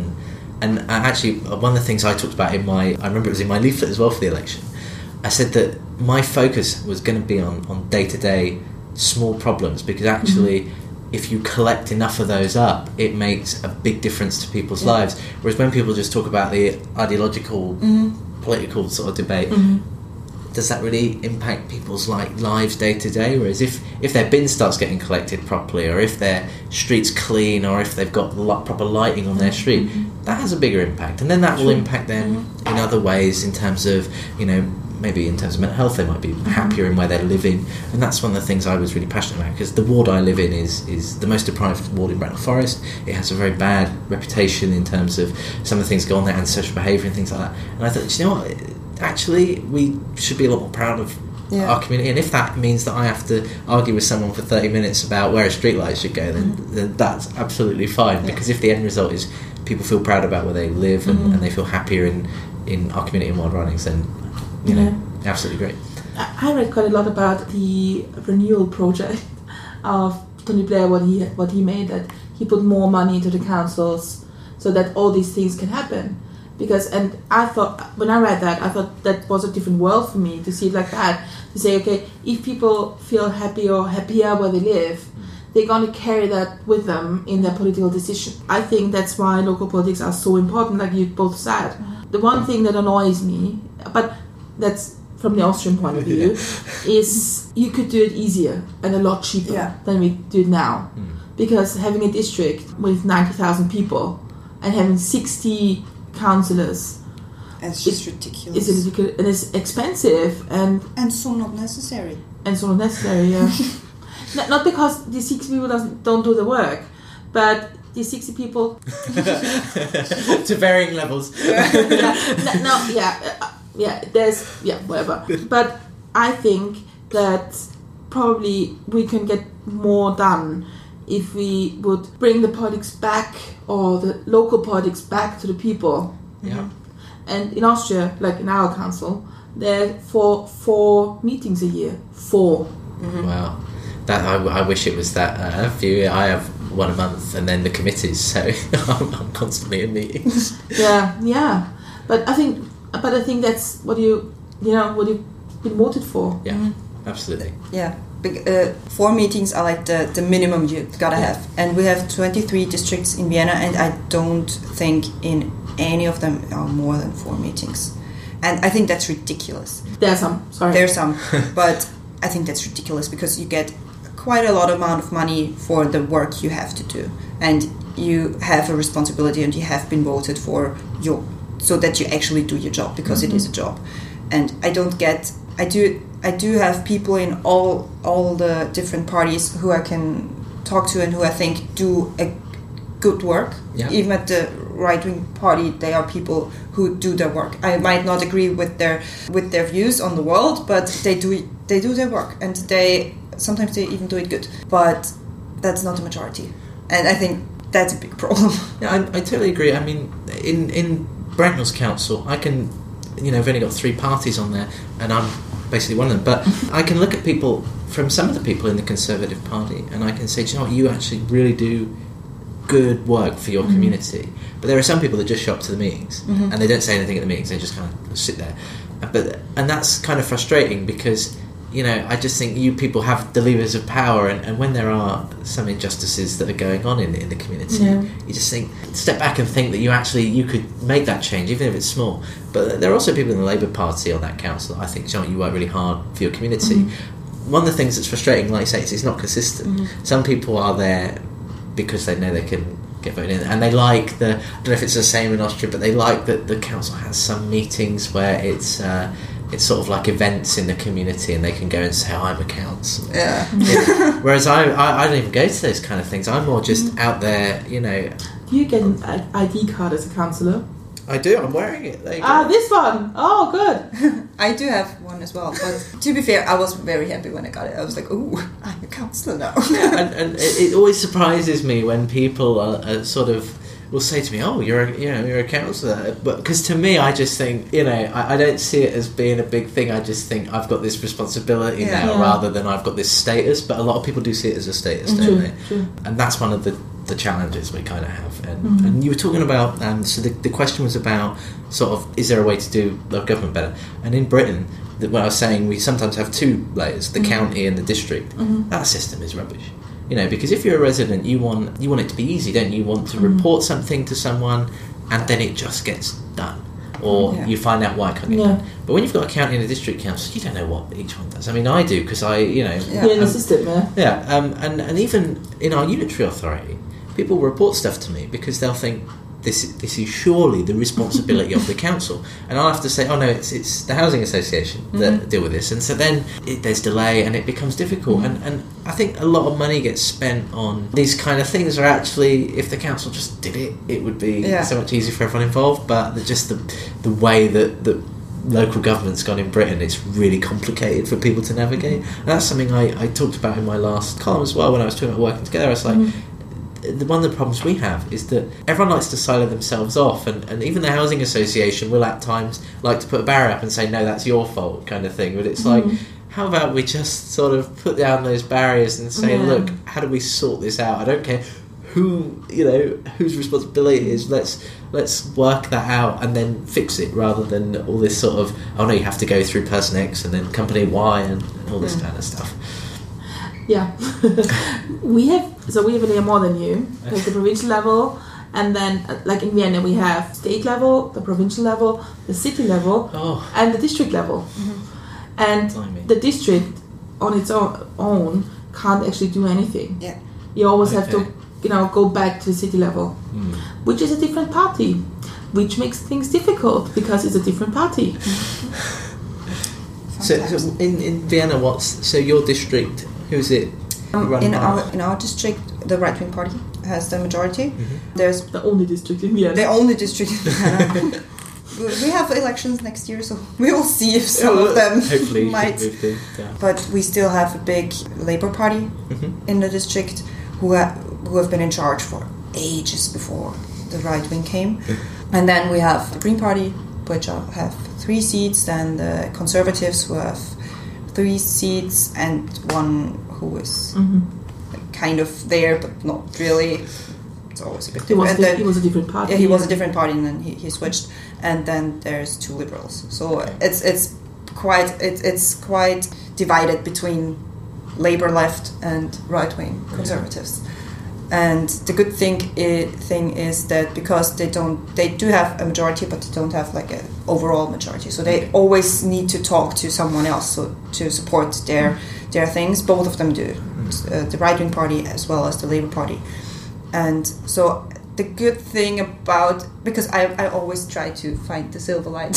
S4: And actually, one of the things I talked about I remember it was in my leaflet as well for the election. I said that my focus was going to be on day-to-day small problems, because actually, if you collect enough of those up, it makes a big difference to people's lives. Whereas when people just talk about the ideological, political sort of debate, does that really impact people's lives day to day? Whereas if their bin starts getting collected properly, or if their street's clean, or if they've got proper lighting on their street, that has a bigger impact, and then that will impact them in other ways, in terms of, maybe in terms of mental health, they might be happier in where they're living. And that's one of the things I was really passionate about, because the ward I live in is the most deprived ward in Bracknell Forest. It has a very bad reputation in terms of some of the things go on there, and social behaviour and things like that. And I thought, you know what, actually we should be a lot more proud of our community, and if that means that I have to argue with someone for 30 minutes about where a streetlight should go, then that's absolutely fine, because if the end result is people feel proud about where they live and they feel happier in our community in Wild Ridings, then absolutely great.
S2: I read quite a lot about the renewal project of Tony Blair, what he made, that he put more money into the councils so that all these things can happen. And I thought, when I read that, I thought that was a different world for me, to see it like that, to say, okay, if people feel happy or happier where they live, they're going to carry that with them in their political decision. I think that's why local politics are so important, like you both said. The one thing that annoys me, but that's from the Austrian point of view, is you could do it easier and a lot cheaper than we do it now. Because having a district with 90,000 people and having 60 councillors,
S3: it's just ridiculous.
S2: It's ridiculous, and it's expensive, and
S3: so not necessary.
S2: Not because the 60 people don't do the work, but the 60 people
S4: to varying levels.
S2: Whatever. But I think that probably we can get more done if we would bring the politics back, or the local politics back to the people.
S4: Yeah.
S2: And in Austria, like in our council, there are four meetings a year. 4.
S4: Wow. That I wish it was that few. I have one a month, and then the committees, so I'm constantly in meetings.
S2: Yeah. But I think that's what you've been voted for.
S4: Yeah, absolutely.
S3: Yeah. 4 meetings are like the minimum you gotta have, and we have 23 districts in Vienna, and I don't think in any of them are more than 4 meetings, and I think that's ridiculous.
S2: There's some,
S3: but I think that's ridiculous, because you get quite a lot amount of money for the work you have to do, and you have a responsibility, and you have been voted for so that you actually do your job, because it is a job. And I do have people in all the different parties who I can talk to, and who I think do a good work.
S4: Yeah.
S3: Even at the right-wing party, they are people who do their work. I might not agree with their views on the world, but they do their work, and sometimes they even do it good. But that's not the majority, and I think that's a big problem.
S4: Yeah, I totally agree. I mean, in Bracknell's council, I can, I've only got 3 parties on there, and I'm basically one of them. But I can look at people, from some of the people in the Conservative Party, and I can say, do you know what, you actually really do good work for your community. But there are some people that just show up to the meetings, and they don't say anything at the meetings, they just kind of sit there. And that's kind of frustrating, because, I just think you people have the levers of power, and when there are some injustices that are going on in the community, you just step back and think that you could make that change, even if it's small. But there are also people in the Labour Party on that council that I think, you work really hard for your community. One of the things that's frustrating, like you say, is it's not consistent. Some people are there because they know they can get voted in, and they like I don't know if it's the same in Austria, but they like that the council has some meetings where it's sort of like events in the community, and they can go and say, I'm a council. Yeah. Whereas I don't even go to those kind of things. I'm more just out there,
S2: Do you get an ID card as a councillor?
S4: I do, I'm wearing it. There you go.
S2: This one! Oh, good!
S3: I do have one as well, but to be fair, I was very happy when I got it. I was like, ooh, I'm a councillor now.
S4: and it always surprises me when people are sort of will say to me, "Oh, you're a councillor," but because to me, I just think, I don't see it as being a big thing. I just think I've got this responsibility now, rather than I've got this status. But a lot of people do see it as a status, don't they?
S2: True.
S4: And that's one of the challenges we kind of have. And you were talking about, so the question was about sort of, is there a way to do local government better? And in Britain, what I was saying, we sometimes have two layers, the county and the district. That system is rubbish. Because if you're a resident, you want it to be easy, don't you? You want to report something to someone, and then it just gets done, or you find out why it can't get done. But when you've got a county and a district council, you don't know what each one does. I mean, I do, because
S2: You're in the system,
S4: and even in our unitary authority, people report stuff to me because they'll think this is surely the responsibility of the council, and I'll have to say, oh no, it's the housing association that deal with this, and so then there's delay and it becomes difficult, and I think a lot of money gets spent on these kind of things. Or actually, if the council just did it would be so much easier for everyone involved. But the way that local government's gone in Britain, it's really complicated for people to navigate, and that's something I talked about in my last column as well when I was talking about working together. I was like, one of the problems we have is that everyone likes to silo themselves off, and even the housing association will at times like to put a barrier up and say, no, that's your fault, kind of thing. But it's like, how about we just sort of put down those barriers and say, look, how do we sort this out? I don't care whose responsibility it is, let's work that out and then fix it, rather than all this sort of, oh no, you have to go through person X and then company Y and all this kind of stuff.
S2: Yeah. we have a layer more than you, like the provincial level, and then like in Vienna we have state level, the provincial level, the city level, and the district level. And the district on its own can't actually do anything.
S3: Yeah.
S2: You always have to go back to the city level, which is a different party, which makes things difficult because it's a different party.
S4: So in Vienna, so your district, who's it?
S3: In our district, the right-wing party has the majority. There's
S2: the only district in Vienna.
S3: The only district in Vienna. We have elections next year, so we will see if some of them might. But we still have a big Labour Party in the district who have been in charge for ages before the right wing came. And then we have the Green Party, which have 3 seats, and the Conservatives who have 3 seats, and one who is kind of there but not really. It's always a bit different.
S2: He was a different party.
S3: Yeah, he was a different party, and then he switched. And then there's 2 Liberals. So it's quite divided between Labour left and right wing Conservatives. And the good thing is that because they do have a majority, but they don't have like an overall majority. So they always need to talk to someone else to support their things. Both of them do, the right wing party as well as the Labour Party. And so the good thing about, because I always try to find the silver lining,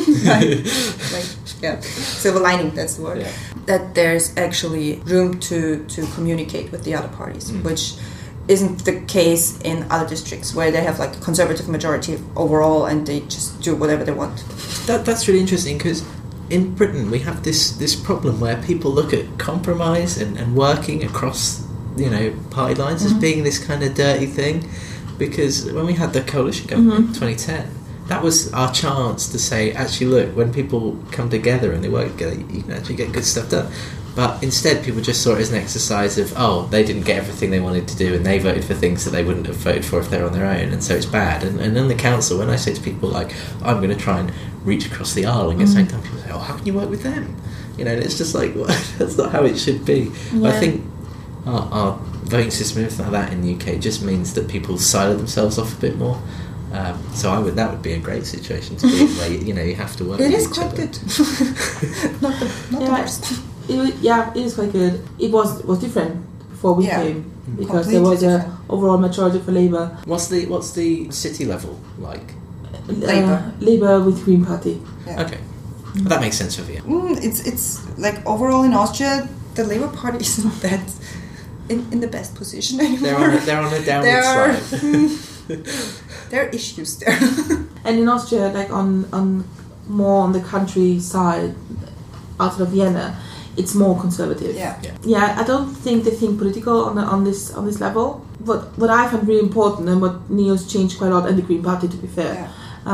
S3: silver lining, that's the word, that there's actually room to communicate with the other parties, which isn't the case in other districts where they have like a conservative majority overall and they just do whatever they want.
S4: That's really interesting, because in Britain we have this problem where people look at compromise and working across party lines as being this kind of dirty thing. Because when we had the coalition government in 2010, that was our chance to say, actually, look, when people come together and they work together, you can actually get good stuff done. But instead, people just saw it as an exercise of, they didn't get everything they wanted to do, and they voted for things that they wouldn't have voted for if they were on their own, and so it's bad. And in the council, when I say to people, like, I'm going to try and reach across the aisle and get something done, people say, how can you work with them? And it's just like, well, that's not how it should be. Yeah. But I think our voting system and everything like that in the UK just means that people silo themselves off a bit more. So that would be a great situation to be in, where you have to work with each other.
S3: It is quite good. not the worst.
S2: It is quite good. It was different before we came, because there was an overall majority for Labour.
S4: What's the city level like?
S3: Labour
S2: with Green Party.
S3: Yeah.
S4: Okay, that makes sense for Vienna.
S3: It's like overall in Austria, the Labour Party isn't that in the best position anymore.
S4: They're on a downward slide.
S3: There are issues there.
S2: And in Austria, like on more on the countryside, outside of Vienna, it's more conservative.
S3: Yeah.
S2: Yeah, I don't think they think political on this level. What I find really important, and what Neos changed quite a lot, and the Green Party, to be fair,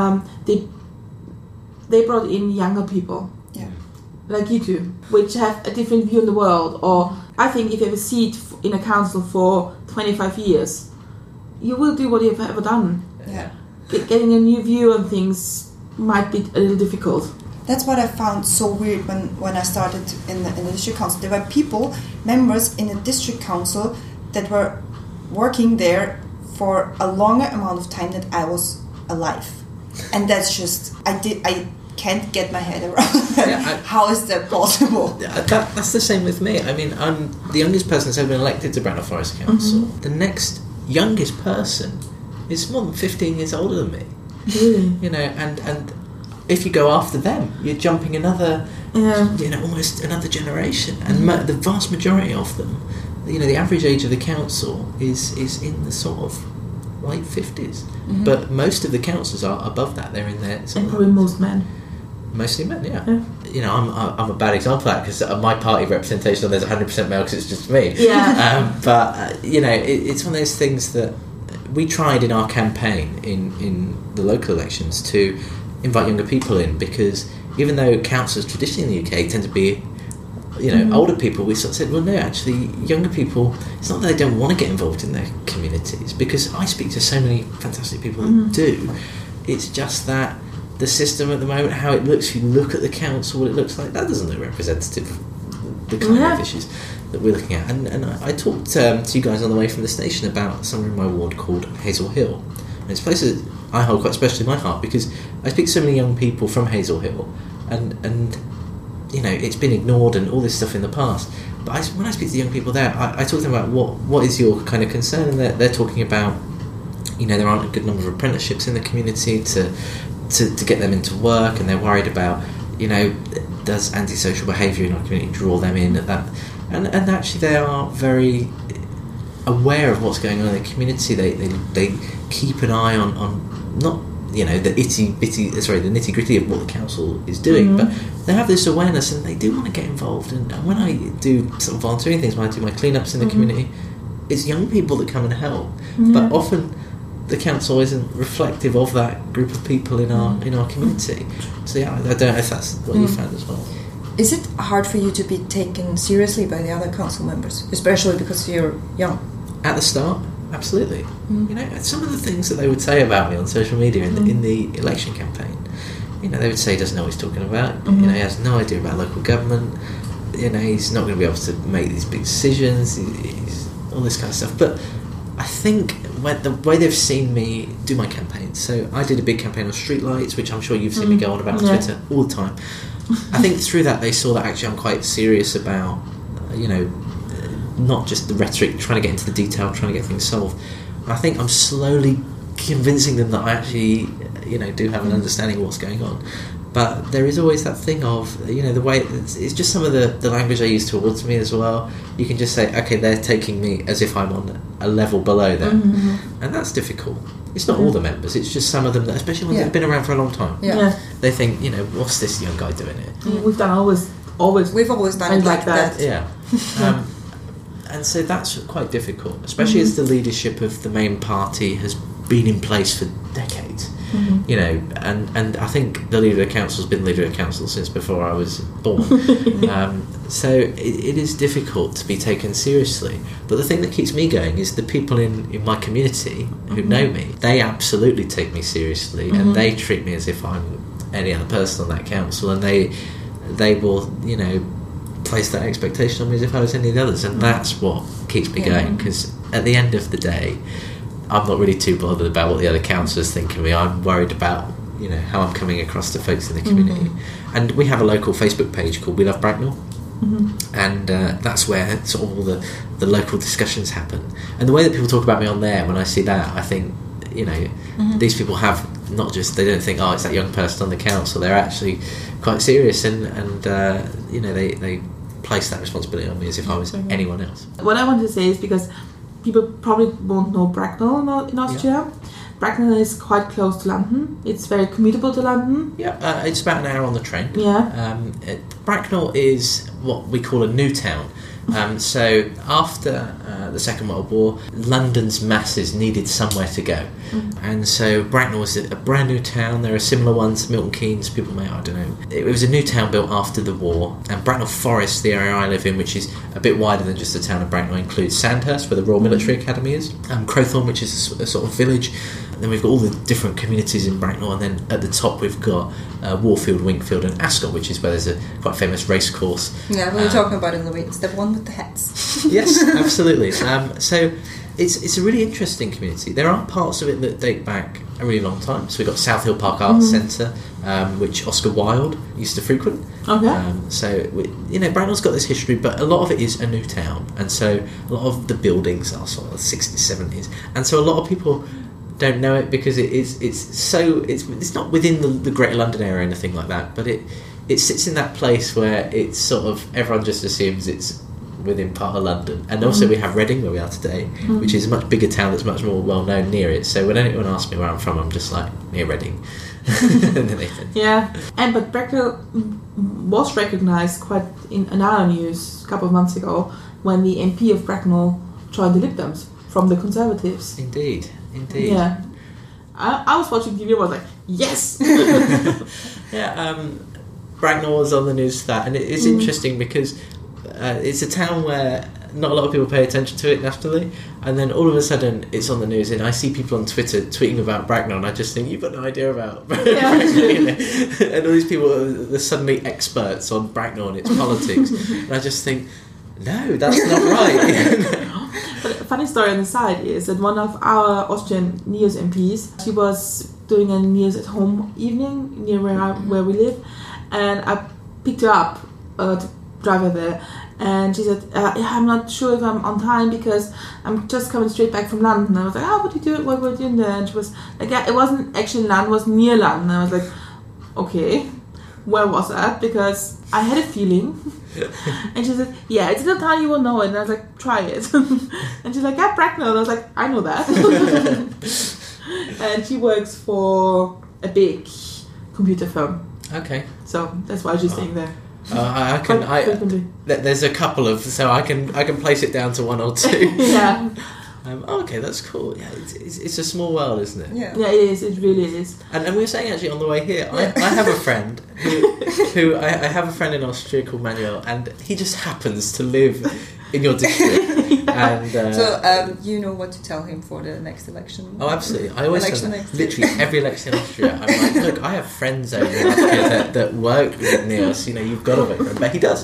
S2: they brought in younger people.
S3: Yeah.
S2: Like you two, which have a different view on the world. Or I think if you have a seat in a council for 25 years, you will do what you've ever done.
S3: Yeah.
S2: Getting a new view on things might be a little difficult.
S3: That's what I found so weird when I started in the district council. There were members in the district council that were working there for a longer amount of time than I was alive. And that's just, I can't get my head around that.
S4: Yeah,
S3: how is that possible?
S4: That's the same with me. I mean, I'm the youngest person that's ever been elected to Bracknell Forest Council. The next youngest person is more than 15 years older than me.
S2: Really?
S4: You know, and if you go after them, you're jumping another, almost another generation. And the vast majority of them, the average age of the council is in the sort of late 50s. But most of the councils are above that. They're in there.
S2: And probably most men.
S4: Mostly men, yeah. I'm a bad example of that because my party representation, there's 100% male because it's just me.
S2: Yeah.
S4: It's one of those things that we tried in our campaign in the local elections to invite younger people in, because even though councillors traditionally in the UK tend to be older people, we sort of said, well, no, actually younger people, it's not that they don't want to get involved in their communities, because I speak to so many fantastic people that do. It's just that the system at the moment, how it looks, if you look at the council, what it looks like, that doesn't look representative of the kind of issues that we're looking at. And I talked to you guys on the way from the station about somewhere in my ward called Hazel Hill. And it's a place that I hold quite special in my heart, because I speak to so many young people from Hazel Hill, and it's been ignored and all this stuff in the past. But when I speak to the young people there, I talk to them about what is your kind of concern, and they're talking about, there aren't a good number of apprenticeships in the community to get them into work, and they're worried about, does antisocial behaviour in our community draw them in at that? And actually they are very aware of what's going on in the community. They keep an eye on not the nitty gritty of what the council is doing, but they have this awareness and they do want to get involved. And when I do sort of volunteering things, when I do my cleanups in the community, it's young people that come and help, but often the council isn't reflective of that group of people in our community. So I don't know if that's what you found as well.
S3: Is it hard for you to be taken seriously by the other council members, especially because you're young? At the start,
S4: absolutely. Some of the things that they would say about me on social media in the election campaign, they would say he doesn't know what he's talking about. He has no idea about local government. He's not going to be able to make these big decisions. He's all this kind of stuff. But I think the way they've seen me do my campaign, so I did a big campaign on streetlights, which I'm sure you've seen me go on about on Twitter all the time. I think through that they saw that actually I'm quite serious about, not just the rhetoric, trying to get into the detail, trying to get things solved. And I think I'm slowly convincing them that I actually, do have an understanding of what's going on. But there is always that thing of, the way it's just some of the language I use towards me as well. You can just say, okay, they're taking me as if I'm on a level below them, and that's difficult. It's not all the members; it's just some of them, especially ones that have been around for a long time.
S2: Yeah.
S4: They think, what's this young guy doing here?
S2: We've always done it like that.
S4: Yeah. And so that's quite difficult, especially as the leadership of the main party has been in place for decades. And I think the leader of the council has been leader of the council since before I was born. So it is difficult to be taken seriously. But the thing that keeps me going is the people in my community who know me. They absolutely take me seriously, and they treat me as if I'm any other person on that council, and they will, place that expectation on me as if I was any of the others, and that's what keeps me going, because at the end of the day, I'm not really too bothered about what the other councillors think of me. I'm worried about, how I'm coming across to folks in the community. And we have a local Facebook page called We Love Bracknell, and that's where sort of all the local discussions happen. And the way that people talk about me on there, when I see that, I think, these people have not just, they don't think, oh, it's that young person on the council. They're actually quite serious, and they place that responsibility on me as if I was anyone else.
S2: What I want to say is, because people probably won't know Bracknell in Austria, Bracknell is quite close to London. It's very commutable to London.
S4: Yeah, it's about an hour on the train.
S2: Yeah.
S4: Bracknell is what we call a new town. So after the Second World War, London's masses needed somewhere to go. And so Bracknell was a brand new town. There are similar ones, Milton Keynes, people may, I don't know. It was a new town built after the war. And Bracknell Forest, the area I live in, which is a bit wider than just the town of Bracknell, includes Sandhurst, where the Royal Military Academy is, Crowthorne, which is a sort of village. Then we've got all the different communities in Bracknell, and then at the top we've got Warfield, Winkfield and Ascot, which is where there's a quite famous race course.
S3: Yeah, we were talking about it in the week. It's the one with the hats.
S4: Yes, absolutely. So it's a really interesting community. There are parts of it that date back a really long time. So we've got South Hill Park Arts Centre, which Oscar Wilde used to frequent.
S2: Okay.
S4: Bracknell's got this history, but a lot of it is a new town. And so a lot of the buildings are sort of 60s, 70s. And so a lot of people don't know it because it's not within the Greater London area or anything like that, but it sits in that place where it's sort of everyone just assumes it's within part of London. And also we have Reading, where we are today, which is a much bigger town that's much more well known near it. So when anyone asks me where I'm from, I'm just like, near Reading.
S2: Yeah, but Bracknell was recognised quite in our news a couple of months ago when the MP of Bracknell joined the Lib Dems from the Conservatives.
S4: Indeed.
S2: Yeah. I was watching TV and was like, yes!
S4: Yeah, Bracknell was on the news for that, and it's interesting because it's a town where not a lot of people pay attention to it naturally, and then all of a sudden it's on the news, and I see people on Twitter tweeting about Bracknell, and I just think, you've got no idea about Bracknell. And all these people are suddenly experts on Bracknell and its politics, and I just think, no, that's not right.
S2: But a funny story on the side is that one of our Austrian NEOS MPs, she was doing a NEOS at home evening near where we live, and I picked her up to drive her there, and she said, I'm not sure if I'm on time because I'm just coming straight back from London. I was like, what were you doing there? And she was like, yeah, it wasn't actually London, it was near London. I was like, okay, where was that? Because I had a feeling. And she said, yeah, it's a little town, you will know it. And I was like, try it. And she's like, yeah, Bracknell. And I was like, I know that. And she works for a big computer firm.
S4: Okay.
S2: So that's why she's staying there.
S4: There's a couple of, so I can place it down to one or two.
S2: Yeah.
S4: Okay, that's cool. Yeah, it's a small world, isn't it?
S2: Yeah, it is. It really is.
S4: And we were saying actually on the way here, I have a friend who I have a friend in Austria called Manuel, and he just happens to live in your district. And
S3: so you know what to tell him for the next election.
S4: Oh, absolutely! I always say that. Literally every election in Austria, I'm like, look, I have friends over in Austria that work with NEOS. You've got to vote for him, but he does.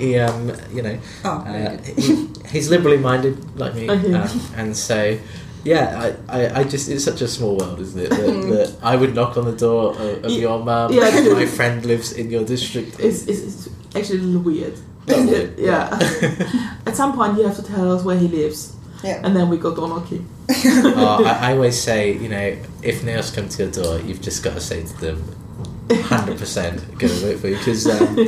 S4: He's liberally minded like me, and so. Yeah, I just, it's such a small world, isn't it? That I would knock on the door of your mum, and my friend lives in your district.
S2: It's actually a little weird. Yeah. At some point you have to tell us where he lives. Yeah. And then we go door knocking.
S4: I always say, if NEOS come to your door, you've just got to say to them, 100% going to vote for you. Because,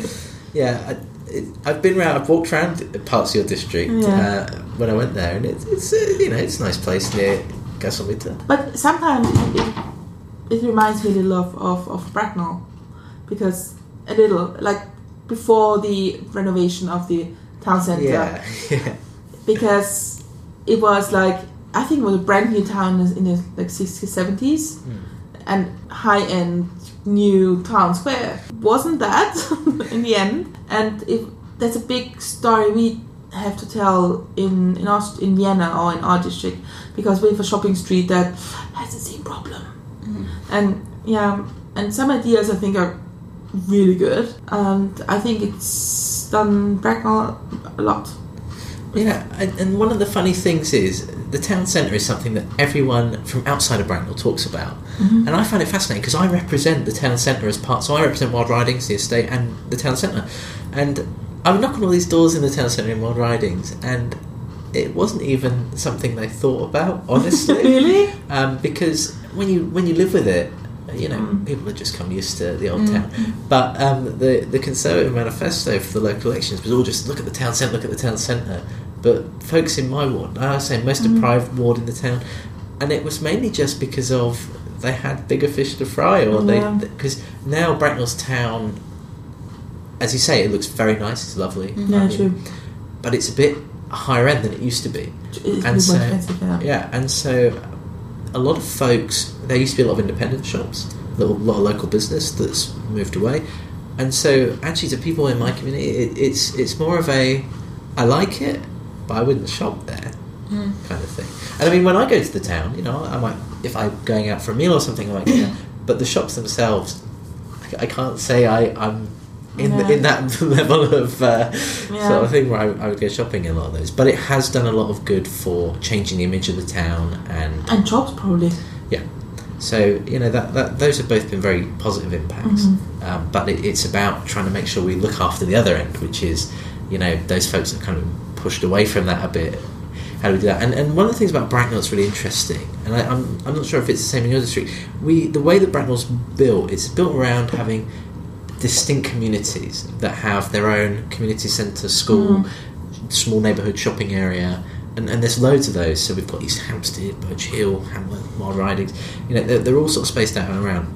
S4: I've been around, I've walked around parts of your district when I went there, and it's a nice place near Gasometer.
S2: But sometimes it reminds me a little of Bracknell, because a little, like before the renovation of the town centre.
S4: Yeah.
S2: Because it was like, I think it was a brand new town in the 60s, 70s, and high-end new town square. Wasn't that in the end? And that's a big story we have to tell in Vienna or in our district, because we have a shopping street that has the same problem. And some ideas I think are really good, and I think it's done Bracknell a lot.
S4: Yeah, and one of the funny things is the town centre is something that everyone from outside of Bracknell talks about, and I find it fascinating because I represent the town centre as part. So I represent Wild Ridings, the estate, and the town centre, and I would knock on all these doors in the town centre in Wild Ridings, and it wasn't even something they thought about, honestly.
S2: Really?
S4: Because when you live with it, people have just come used to the old town. But the Conservative manifesto for the local elections was all just look at the town centre, look at the town centre. But folks in my ward, I was saying most deprived ward in the town, and it was mainly just because of they had bigger fish to fry, or because now Bracknell's town, as you say, it looks very nice. It's lovely.
S2: Yeah, true.
S4: But it's a bit higher end than it used to be.
S2: It's more expensive,
S4: and so a lot of folks, there used to be a lot of independent shops, a lot of local business that's moved away, and so actually to people in my community, it's more of a, I like it, but I wouldn't shop there kind of thing. And I mean, when I go to the town, you know, I might, if I'm going out for a meal or something, I might go there, but the shops themselves, I can't say I'm in that level of sort of thing where I would go shopping in a lot of those. But it has done a lot of good for changing the image of the town
S2: and jobs probably.
S4: Yeah. So you know that those have both been very positive impacts. But it's about trying to make sure we look after the other end, which is, you know, those folks that kind of pushed away from that a bit. How do we do that? And one of the things about Bracknell that's really interesting, and I'm not sure if it's the same in your district. The way that Bracknell's built, it's built around having distinct communities that have their own community centre, school, small neighbourhood shopping area, and there's loads of those. So we've got East Hampstead, Birch Hill, Hamlet, Wild Ridings. You know, they're all sort of spaced out and around.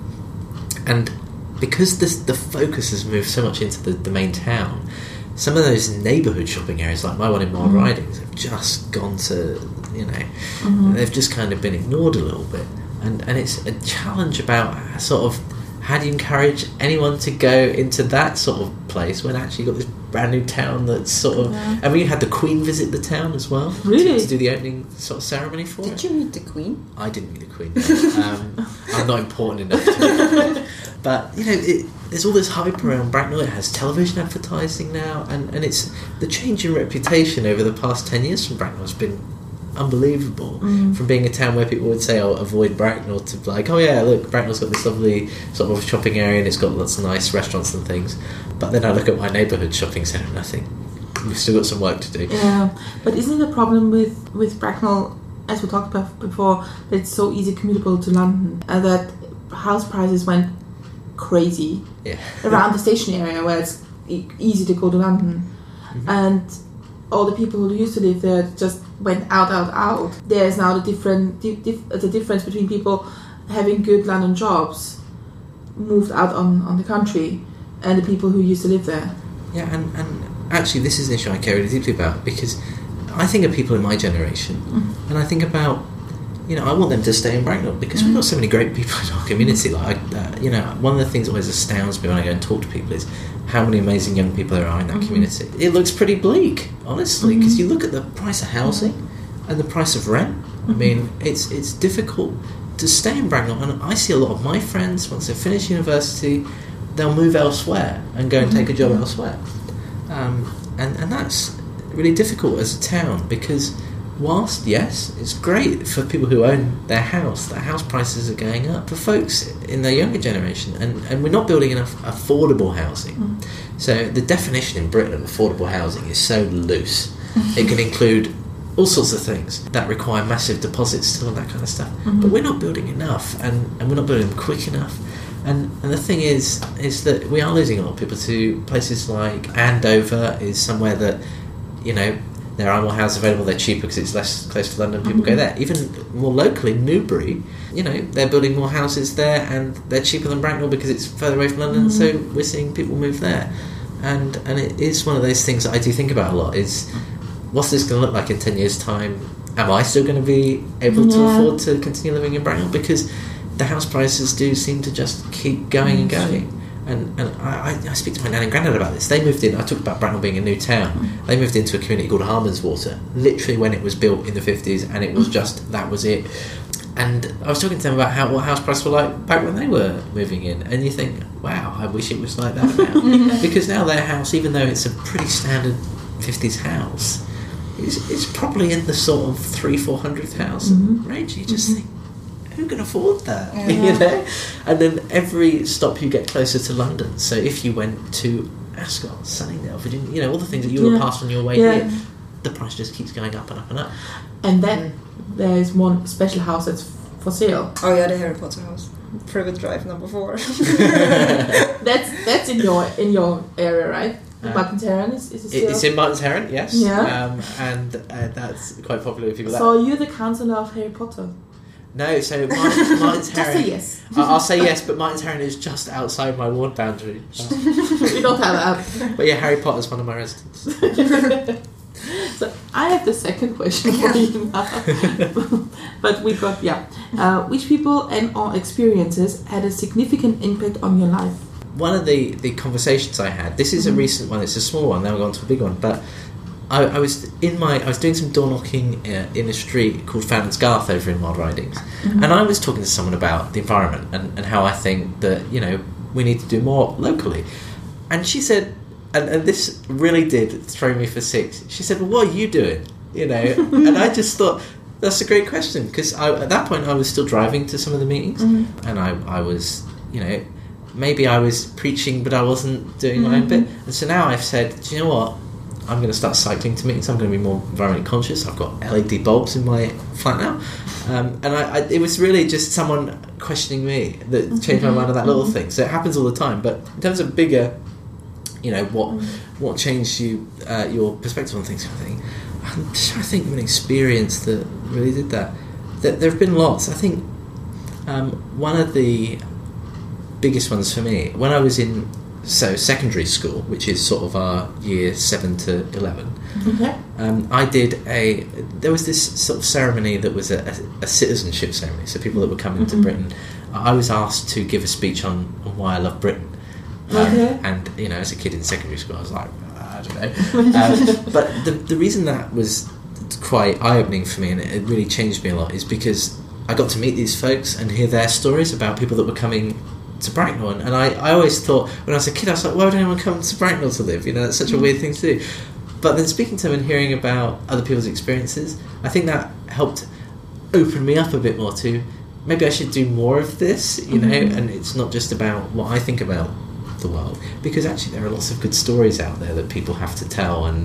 S4: And because the focus has moved so much into the main town, some of those neighbourhood shopping areas, like my one in Wild Ridings, have just gone to, you know, they've just kind of been ignored a little bit. And it's a challenge about sort of, how do you encourage anyone to go into that sort of place when actually you've got this brand new town that's sort of... I mean, you had the Queen visit the town as well.
S2: Really?
S4: To do the opening sort of ceremony for it.
S3: Did you meet the Queen?
S4: I didn't meet the Queen. No. I'm not important enough to meet her. But, you know, there's all this hype around Bracknell. It has television advertising now, and it's... The change in reputation over the past 10 years from Bracknell has been unbelievable. From being a town where people would say, oh, avoid Bracknell, to like, oh yeah, look, Bracknell's got this lovely sort of shopping area and it's got lots of nice restaurants and things. But then I look at my neighbourhood shopping centre and I think we've still got some work to do.
S2: Yeah, but isn't it a problem with Bracknell, as we talked about before, that it's so easy commutable to London, and that house prices went crazy around the station area where it's easy to go to London, and all the people who used to live there just went out. There's now the difference between people having good London jobs moved out on the country and the people who used to live there.
S4: Yeah, and actually this is an issue I care really deeply about, because I think of people in my generation and I think about, you know, I want them to stay in Bracknell because we've got so many great people in our community. Like, you know, one of the things that always astounds me when I go and talk to people is how many amazing young people there are in that community. It looks pretty bleak, honestly, because you look at the price of housing and the price of rent. I mean, it's difficult to stay in Bracknell, and I see a lot of my friends, once they finish university, they'll move elsewhere and go and take a job elsewhere. And that's really difficult as a town, because whilst, yes, it's great for people who own their house, their house prices are going up. For folks in the younger generation, and we're not building enough affordable housing. So the definition in Britain of affordable housing is so loose. It can include all sorts of things that require massive deposits and all that kind of stuff. But we're not building enough, and we're not building them quick enough. And the thing is that we are losing a lot of people to places like Andover is somewhere that, you know, there are more houses available, they're cheaper because it's less close to London, people go there. Even more locally, Newbury, you know, they're building more houses there and they're cheaper than Bracknell because it's further away from London, so we're seeing people move there. And it is one of those things that I do think about a lot, is what's this going to look like in 10 years' time? Am I still going to be able to afford to continue living in Bracknell? Because the house prices do seem to just keep going and going. And I speak to my nan and granddad about this. They moved in, I talked about Bracknell being a new town, they moved into a community called Harmonswater, literally when it was built in the 50s, and it was just, that was it. And I was talking to them about what house prices were like back when they were moving in, and you think, wow, I wish it was like that now. Because now their house, even though it's a pretty standard 50s house, it's probably in the sort of 300,000-400,000 range. You just think, who can afford that? You know? And then every stop you get closer to London. So if you went to Ascot, Sunningdale, Virginia, you know, all the things that you were past on your way here, the price just keeps going up and up and up.
S2: And then there's one special house that's for sale.
S3: Oh yeah, the Harry Potter house, Privet Drive number 4.
S2: That's in your area, right? Martin's Heron is it still?
S4: It's in Martin's Heron, yes.
S2: Yeah.
S4: And that's quite popular with people.
S2: So you're the counsellor of Harry Potter.
S4: No, so Martin's
S2: Just say
S4: Heron.
S2: yes.
S4: I'll say yes, but Martin's Heron is just outside my ward boundary.
S2: We don't have that.
S4: But yeah, Harry Potter's one of my residents.
S2: So I have the second question for you now. But we got, which people and or experiences had a significant impact on your life?
S4: One of the conversations I had, this is a recent one, it's a small one, now we're on to a big one, but I was doing some door knocking in a street called Fountains Garth over in Wild Ridings, and I was talking to someone about the environment and how I think that, you know, we need to do more locally. And she said, and this really did throw me for six, she said, well, what are you doing? You know, and I just thought, that's a great question, because at that point I was still driving to some of the meetings, and I was, you know, maybe I was preaching but I wasn't doing my own bit. And so now I've said, do you know what, I'm going to start cycling to meetings. I'm going to be more environmentally conscious. I've got LED bulbs in my flat now, and it was really just someone questioning me that changed my mind on that little thing. So it happens all the time. But in terms of bigger, you know, what changed your perspective on things, kind of thing, I'm just trying to think of an experience that really did that. There have been lots. I think one of the biggest ones for me, when I was in secondary school, which is sort of our year 7 to 11.
S2: Okay.
S4: There was this sort of ceremony that was a citizenship ceremony, so people that were coming to Britain. I was asked to give a speech on why I love Britain. And, you know, as a kid in secondary school, I was like, I don't know. But the reason that was quite eye-opening for me, and it really changed me a lot, is because I got to meet these folks and hear their stories about people that were coming to Bracknell, and I always thought when I was a kid, I was like, why would anyone come to Bracknell to live? You know, that's such a weird thing to do. But then speaking to them and hearing about other people's experiences, I think that helped open me up a bit more to maybe I should do more of this, you know, and it's not just about what I think about the world, because actually there are lots of good stories out there that people have to tell, and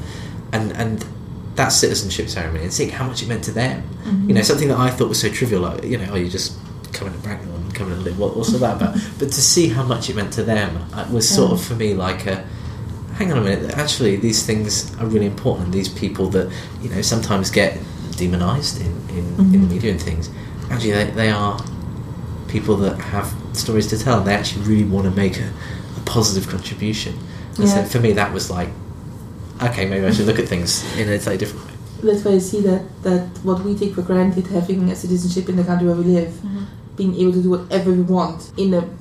S4: that citizenship ceremony and seeing how much it meant to them, you know, something that I thought was so trivial, like, you know, oh, you just coming to Bracknell and coming to live, what's all that about? But to see how much it meant to them was sort of for me like hang on a minute, actually these things are really important, and these people that, you know, sometimes get demonised in the media and things, actually they are people that have stories to tell, and they actually really want to make a positive contribution. And so for me that was like, okay, maybe I should look at things in a slightly different way.
S2: That's why I see that what we take for granted, having a citizenship in the country where we live, being able to do whatever we want in a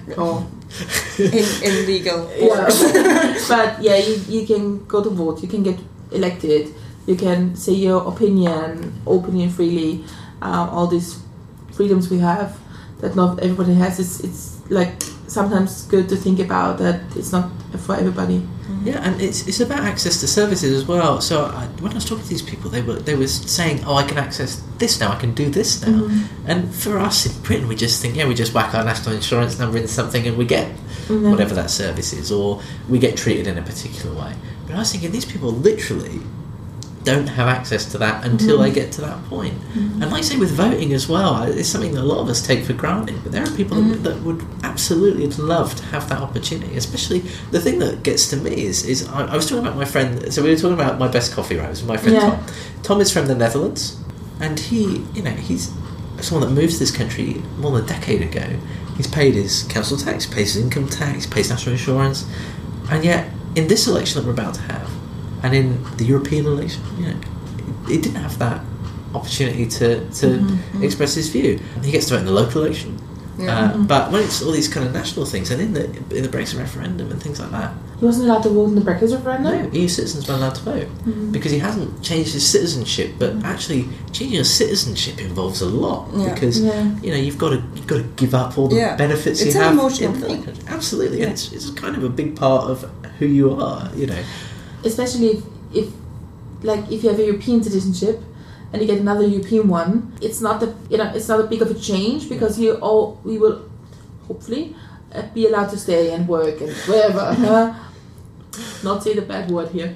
S3: in legal.
S2: But yeah, you can go to vote, you can get elected, you can say your opinion openly and freely. All these freedoms we have that not everybody has. It's like sometimes good to think about that it's not for everybody.
S4: Yeah, and it's about access to services as well. So when I was talking to these people, they were saying, oh, I can access this now, I can do this now. And for us in Britain, we just think, we just whack our national insurance number into something and we get whatever that service is, or we get treated in a particular way. But I was thinking, these people literally don't have access to that until they get to that point. And like I say, with voting as well, it's something that a lot of us take for granted, but there are people that would absolutely love to have that opportunity. Especially the thing that gets to me is I was talking about my friend, so we were talking about my best coffee, right? It was my friend Tom. Tom is from the Netherlands, and he's someone that moved to this country more than a decade ago. He's paid his council tax, pays his income tax, pays national insurance, and yet in this election that we're about to have, and in the European election, he didn't have that opportunity to express his view. He gets to vote in the local election, but when it's all these kind of national things, and in the Brexit referendum and things like that,
S2: he wasn't allowed to vote in the Brexit referendum.
S4: No, EU citizens weren't allowed to vote because he hasn't changed his citizenship. But actually, changing your citizenship involves a lot because you've got to give up all the benefits you have.
S3: It's an emotional thing.
S4: Absolutely, and it's kind of a big part of who you are.
S2: Especially if you have a European citizenship and you get another European one, it's not a big of a change because we will hopefully be allowed to stay and work and wherever. Not say the bad word here.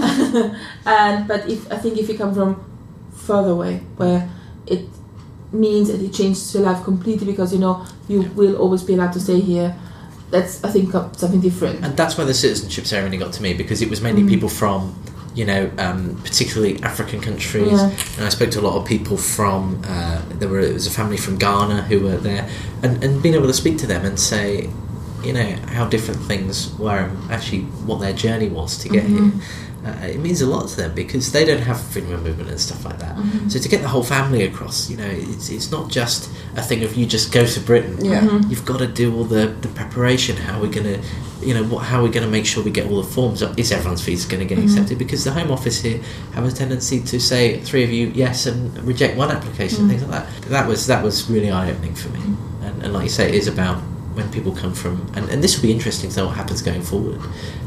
S2: But if you come from further away, where it means that it changes your life completely because you will always be allowed to stay here. That's, I think, something different.
S4: And that's where the citizenship ceremony got to me, because it was mainly people from particularly African countries.
S2: Yeah.
S4: And I spoke to a lot of people from, it was a family from Ghana who were there, and being able to speak to them and say, how different things were and actually what their journey was to get here. It means a lot to them because they don't have freedom of movement and stuff like that. So to get the whole family across, it's not just a thing of you just go to Britain.
S3: Yeah.
S4: You've got to do all the preparation. How are we going to, how are we going to make sure we get all the forms up? Is everyone's visa going to get accepted? Because the Home Office here have a tendency to say 3 of you yes and reject one application, things like that. That was really eye opening for me. And like you say, it is about when people come from, and this will be interesting to know what happens going forward.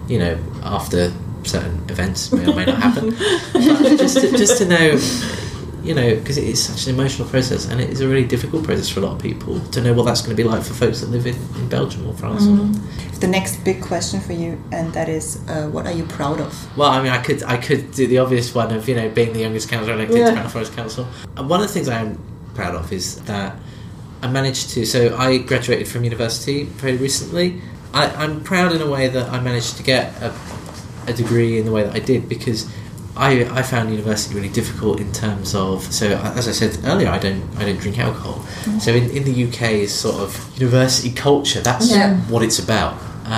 S4: After certain events may or may not happen, but just to know, because it is such an emotional process and it is a really difficult process for a lot of people to know what that's going to be like for folks that live in Belgium or France.
S3: The next big question for you, and that is, what are you proud of?
S4: Well, I mean, I could do the obvious one of being the youngest councillor elected to Manor Forest Council. And one of the things I am proud of is that I managed to. So I graduated from university very recently. I'm proud in a way that I managed to get a degree in the way that I did because I found university really difficult in terms of. So as I said earlier, I don't drink alcohol. So in the UK, sort of university culture, that's what it's about.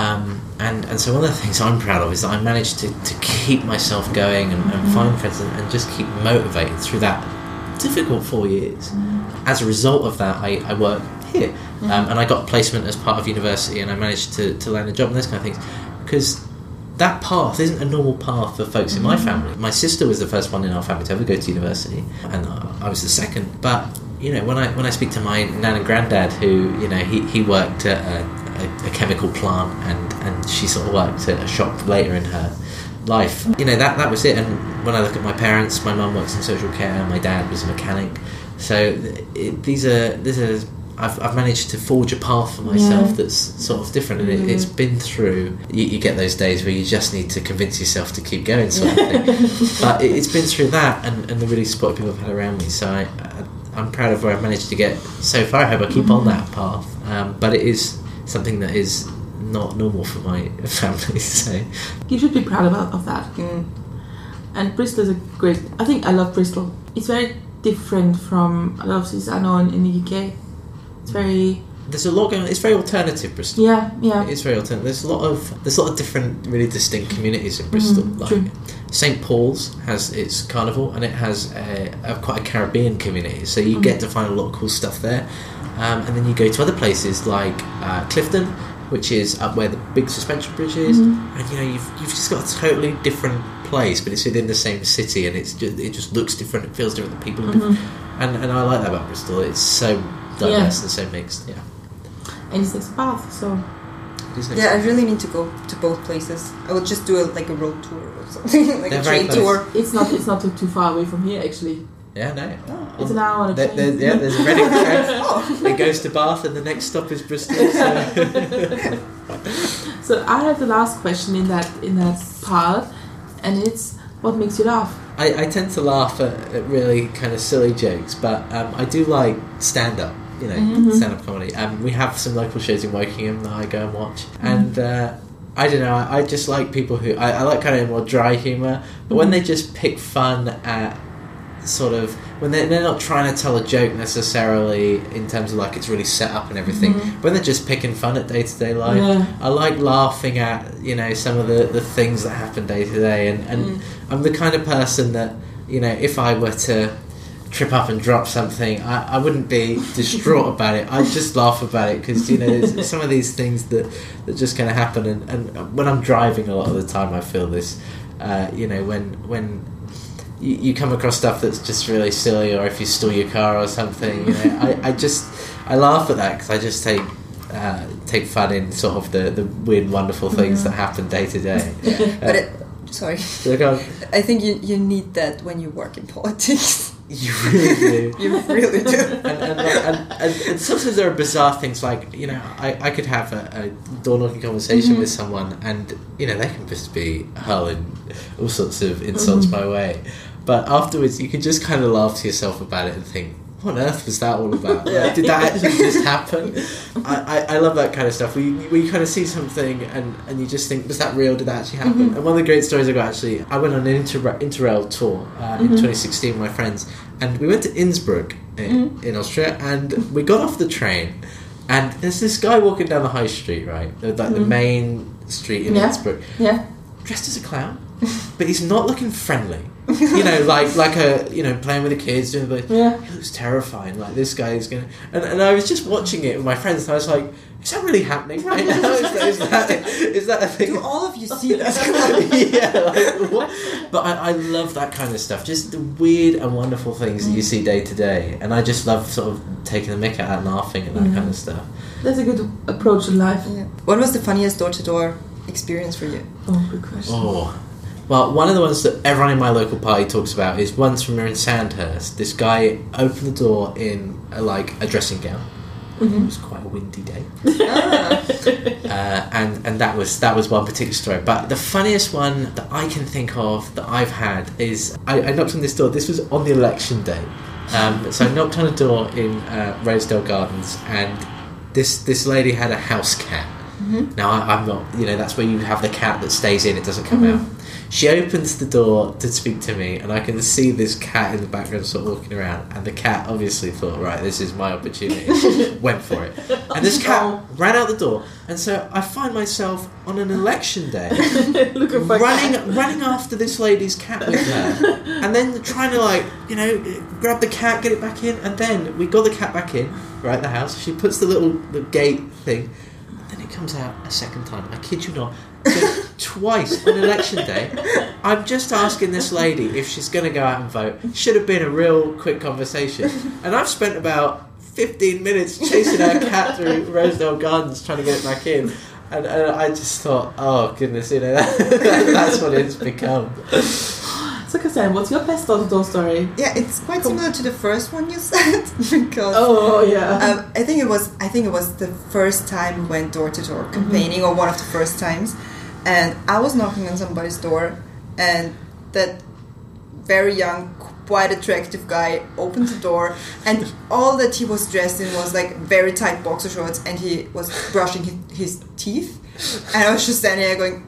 S4: And so one of the things I'm proud of is that I managed to keep myself going and find friends and just keep motivated through that difficult 4 years. As a result of that, I work here, and I got a placement as part of university, and I managed to land a job and those kind of things, because that path isn't a normal path for folks in my family. My sister was the first one in our family to ever go to university, and I was the second. But when I speak to my nan and granddad, who he worked at a chemical plant, and she sort of worked at a shop later in her life. That was it. And when I look at my parents, my mum works in social care, my dad was a mechanic. So I've managed to forge a path for myself that's sort of different, and it's been through. You get those days where you just need to convince yourself to keep going, sort of thing. But it's been through that, and the really supportive people I've had around me. So I'm proud of where I've managed to get so far. I hope I keep on that path. But it is something that is not normal for my family. So
S2: You should be proud of that. And Bristol is a great. I think I love Bristol. It's very different from a lot of cities I know in the UK. It's very.
S4: There's a lot going on. It's very alternative, Bristol.
S2: Yeah.
S4: It's very alternative. There's a lot of different, really distinct communities in Bristol.
S2: True.
S4: St Paul's has its carnival, and it has quite a Caribbean community. So you get to find a lot of cool stuff there. And then you go to other places like Clifton, which is up where the big suspension bridge is, and you've just got a totally different place, but it's within the same city, and it just looks different. It feels different. The people are different, and I like that about Bristol. It's so diverse and so mixed. Yeah.
S2: And it's next to Bath, so.
S3: I really need to go to both places. I would just do a road tour or something, like
S4: They're
S3: a train tour.
S2: It's not too far away from here, actually.
S4: Yeah, no.
S2: It's an hour on a train.
S4: There's a Reading train. It goes to Bath, and the next stop is Bristol. So.
S2: So I have the last question in that part, and it's what makes you laugh?
S4: I tend to laugh at really kind of silly jokes, but I do like stand-up. Stand-up comedy. We have some local shows in Wokingham that I go and watch, and I don't know. I just like people who I like kind of more dry humour, but when they just pick fun at sort of when they're not trying to tell a joke necessarily in terms of like it's really set up and everything, when they're just picking fun at day-to-day life. I like laughing at some of the things that happen day to day, and I'm the kind of person that if I were to trip up and drop something, I wouldn't be distraught about it. I'd just laugh about it because there's some of these things that just kind of happen, and when I'm driving a lot of the time I feel this when you come across stuff that's just really silly, or if you stole your car or something, I laugh at that because I just take fun in sort of the weird wonderful things that happen day to day.
S3: But I think you need that when you work in politics.
S4: You really do.
S3: You really do.
S4: And sometimes there are bizarre things like, I could have a door-knocking conversation with someone, and, they can just be hurling all sorts of insults my way. But afterwards, you can just kind of laugh to yourself about it and think, what on earth was that all about? Like, did that actually just happen? I love that kind of stuff. Where you kind of see something and you just think, was that real? Did that actually happen? And one of the great stories I got, actually, I went on an Interrail tour in 2016 with my friends, and we went to Innsbruck in Austria, and we got off the train, and there's this guy walking down the high street, right? Like the main street in Innsbruck.
S2: Yeah.
S4: Dressed as a clown, but he's not looking friendly. You know, like a, you know, playing with the kids, doing the. He looks terrifying. Like, this guy is gonna. And I was just watching it with my friends, and I was like, is that really happening right now? Is that a thing?
S3: Do all of you see this?
S4: Yeah, like, what? But I love that kind of stuff. Just the weird and wonderful things that you see day to day, and I just love sort of taking the mick out and laughing at that kind of stuff.
S2: That's a good approach in life.
S3: Yeah. What was the funniest door-to-door experience for you?
S2: Oh, good question.
S4: Oh. Well, one of the ones that everyone in my local party talks about is once when we were in Sandhurst, this guy opened the door in a dressing gown. It was quite a windy day. And that was one particular story. But the funniest one that I can think of that I've had is I knocked on this door. This was on the election day. So I knocked on a door in Rosedale Gardens, and this lady had a house cat. Now, I'm not, you know, that's where you have the cat that stays in, it doesn't come out. She opens the door to speak to me, and I can see this cat in the background sort of walking around, and the cat obviously thought, right, this is my opportunity. Went for it. And this cat ran out the door, and so I find myself on an election day running after this lady's cat with her, and then trying to, like, you know, grab the cat, get it back in, and then we got the cat back in, right, the house. She puts the gate thing, and then it comes out a second time. I kid you not. So twice on election day, I'm just asking this lady if she's going to go out and vote. Should have been a real quick conversation. And I've spent about 15 minutes chasing our cat through Rosedale Gardens trying to get it back in. And I just thought, oh goodness, you know, that's what it's become.
S2: So, Cassandra, what's your best door-to-door story?
S3: Yeah, it's quite similar to the first one you said, because I think it was the first time we went door to door campaigning, or one of the first times, and I was knocking on somebody's door, and that very young, quite attractive guy opened the door, and all that he was dressed in was like very tight boxer shorts, and he was brushing his teeth, and I was just standing there going,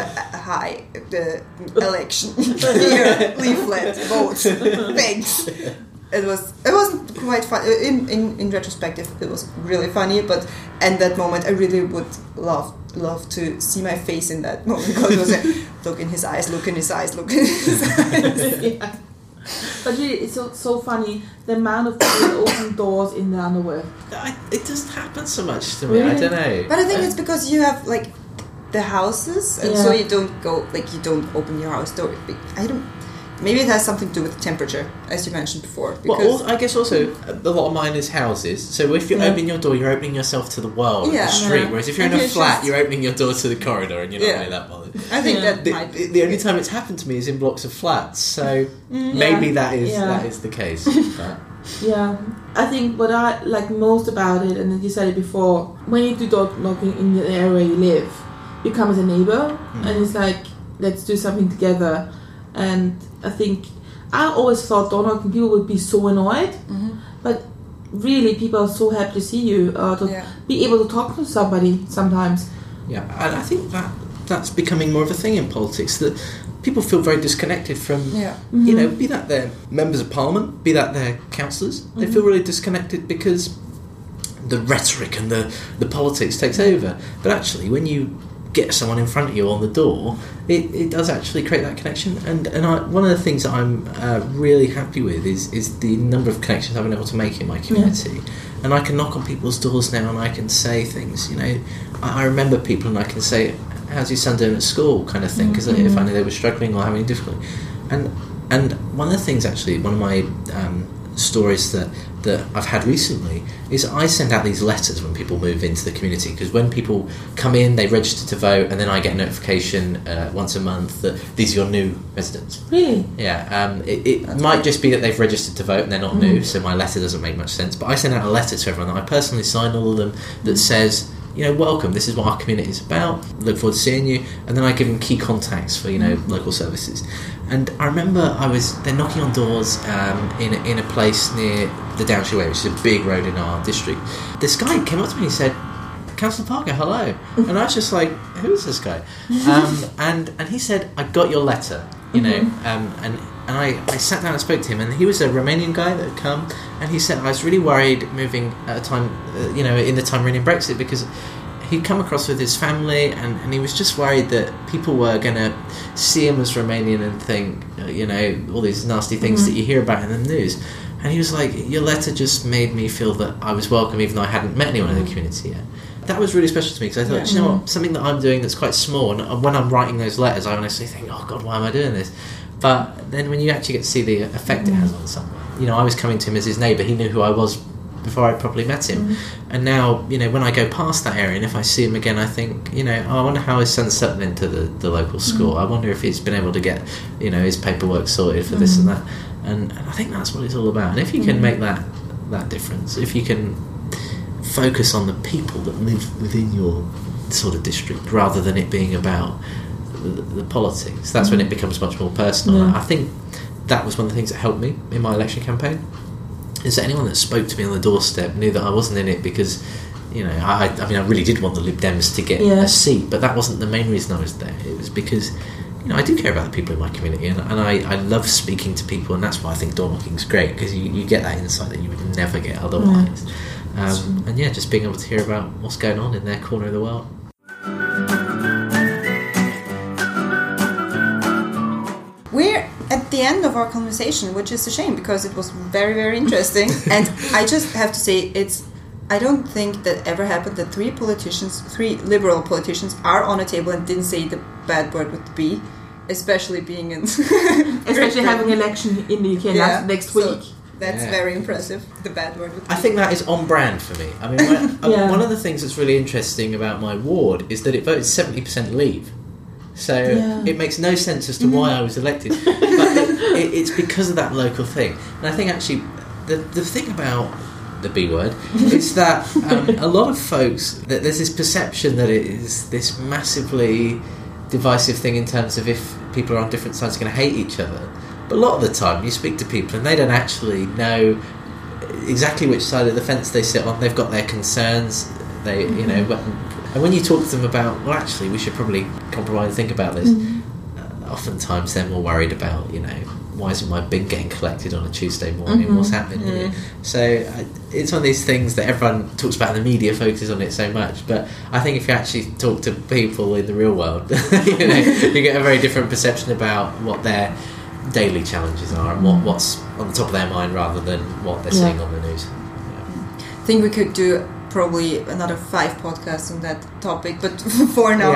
S3: hi, the election here, leaflet, vote, thanks. It wasn't quite fun. In retrospective, it was really funny, but at that moment, I really would love to see my face in that moment, because it was like, look in his eyes, look in his eyes, look in his eyes.
S2: Yeah. But really, it's so funny, the amount of people that open doors in the underwear.
S4: It doesn't happen so much to me. Really? I don't know.
S3: But I think it's because you have like the houses, and so you don't go, like, you don't open your house door. Maybe it has something to do with temperature, as you mentioned before.
S4: Well, I guess also a lot of mine is houses. So if you open your door, you're opening yourself to the world, the street. Whereas if you're in a flat, you're opening your door to the corridor, and you're not really that bothered.
S3: I think that might be
S4: the only time it's happened to me is in blocks of flats. So maybe that is the case. But.
S2: Yeah, I think what I like most about it, and you said it before, when you do door knocking in the area you live, you come as a neighbor, and it's like, let's do something together. And I think I always thought door knocking people would be so annoyed, but really people are so happy to see you, to be able to talk to somebody sometimes. Yeah,
S4: and I think that's becoming more of a thing in politics, that people feel very disconnected from, you know, be that their members of parliament, be that their councillors. They feel really disconnected because the rhetoric and the politics takes over. But actually, when you get someone in front of you on the door, it does actually create that connection. And one of the things that I'm really happy with is the number of connections I've been able to make in my community. And I can knock on people's doors now, and I can say things, you know, I remember people, and I can say, how's your son doing at school, kind of thing, because if I knew they were struggling or having difficulty. And one of the things, actually, one of my stories that I've had recently is I send out these letters when people move into the community, because when people come in, they register to vote, and then I get a notification once a month that these are your new residents.
S2: Really?
S4: Yeah. It might just be that they've registered to vote and they're not new, so my letter doesn't make much sense, but I send out a letter to everyone that I personally sign all of them that says, welcome. This is what our community is about. Look forward to seeing you. And then I give them key contacts for local services. And I remember they're knocking on doors in a place near the Downshire Way, which is a big road in our district. This guy came up to me and he said, "Councillor Parker, hello." And I was just like, "Who is this guy?" And he said, "I got your letter," and I sat down and spoke to him, and he was a Romanian guy that had come, and he said, "I was really worried moving at a time, in the time running Brexit, because he'd come across with his family, and he was just worried that people were going to see him as Romanian and think, all these nasty things that you hear about in the news." And he was like, "Your letter just made me feel that I was welcome, even though I hadn't met anyone in the community yet." That was really special to me, because I thought, you know what, something that I'm doing that's quite small, and when I'm writing those letters, I honestly think, "Oh God, why am I doing this?" But then when you actually get to see the effect it has on someone, I was coming to him as his neighbour. He knew who I was before I properly met him. And now, when I go past that area, and if I see him again, I think, I wonder how his son's settled into the local school. I wonder if he's been able to get, his paperwork sorted for this and that. And I think that's what it's all about. And if you can make that difference, if you can focus on the people that live within your sort of district, rather than it being about the politics, that's when it becomes much more personal. I think that was one of the things that helped me in my election campaign, is that anyone that spoke to me on the doorstep knew that I wasn't in it because I really did want the Lib Dems to get a seat, but that wasn't the main reason I was there. It was because I do care about the people in my community, and I love speaking to people, and that's why I think door knocking is great, because you get that insight that you would never get otherwise. And just being able to hear about what's going on in their corner of the world.
S3: We're at the end of our conversation, which is a shame, because it was very, very interesting. And I just have to say, I don't think that ever happened that three liberal politicians are on a table and didn't say the bad word with the B, especially being in...
S2: especially having an election in the UK next week.
S3: That's very impressive, the bad word with the B.
S4: I think that is on brand for me. I mean, one of the things that's really interesting about my ward is that it voted 70% Leave. So it makes no sense as to why I was elected. But it's because of that local thing. And I think actually the thing about the B word is that a lot of folks, that there's this perception that it is this massively divisive thing in terms of if people are on different sides are going to hate each other. But a lot of the time you speak to people and they don't actually know exactly which side of the fence they sit on. They've got their concerns. They, and when you talk to them about, well, actually, we should probably compromise and think about this, oftentimes they're more worried about, why isn't my bin getting collected on a Tuesday morning? What's happening here? So it's one of these things that everyone talks about, and the media focuses on it so much. But I think if you actually talk to people in the real world, you get a very different perception about what their daily challenges are and what's on the top of their mind rather than what they're seeing on the news.
S3: I think we could do probably another 5 podcasts on that topic, but for now,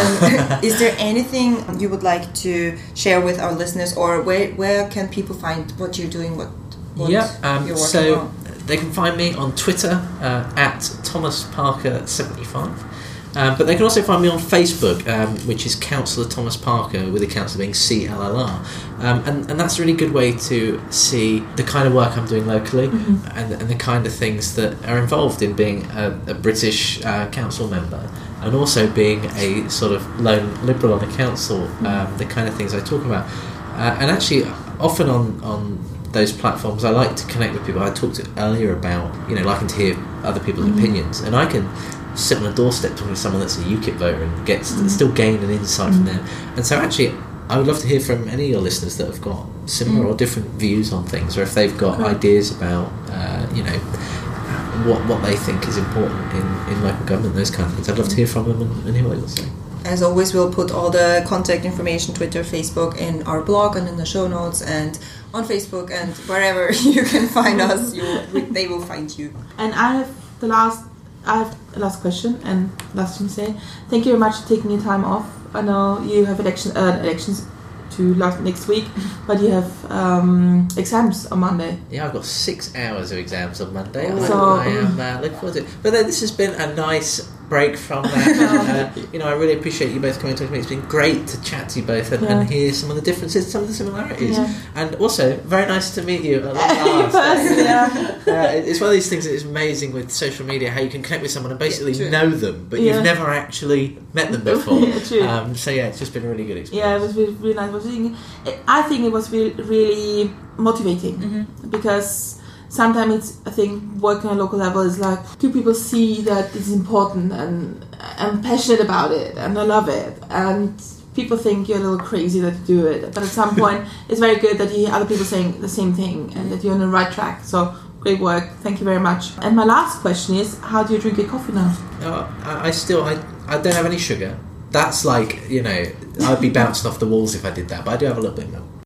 S3: is there anything you would like to share with our listeners, or where can people find what you're doing, what you're working on?
S4: They can find me on Twitter at Thomas Parker 75. But they can also find me on Facebook, which is Councillor Thomas Parker, with the councillor being CLLR. And that's a really good way to see the kind of work I'm doing locally and the kind of things that are involved in being a British council member, and also being a sort of lone Liberal on a council, the kind of things I talk about. And actually, often on those platforms, I like to connect with people. I talked earlier about, liking to hear other people's opinions, and I can sit on a doorstep talking to someone that's a UKIP voter and still gain an insight from them. And so actually I would love to hear from any of your listeners that have got similar or different views on things, or if they've got ideas about what they think is important in local government, those kind of things. I'd love to hear from them and hear what they will say.
S3: As always, we'll put all the contact information, Twitter, Facebook, in our blog and in the show notes, and on Facebook, and wherever you can find us, they will find you.
S2: And I have a last question and last thing to say. Thank you very much for taking your time off. I know you have elections to next week, but you have exams on Monday.
S4: Yeah, I've got 6 hours of exams on Monday. So I am looking forward to it. But then this has been a nice break from that. I really appreciate you both coming to talk to me. It's been great to chat to you both and hear some of the differences, some of the similarities, and also very nice to meet you at long last. It's one of these things that is amazing with social media, how you can connect with someone and basically know them, but you've never actually met them before. It's just been a really good experience.
S2: Yeah, it was really, really nice. I think it was really motivating because sometimes I think working on a local level is like, do people see that it's important and I'm passionate about it and I love it, and people think you're a little crazy that you do it, but at some point it's very good that you hear other people saying the same thing and that you're on the right track. So great work, thank you very much. And my last question is, how do you drink your coffee now?
S4: I don't have any sugar. That's like, I'd be bouncing off the walls if I did that, but I do have a little bit of milk.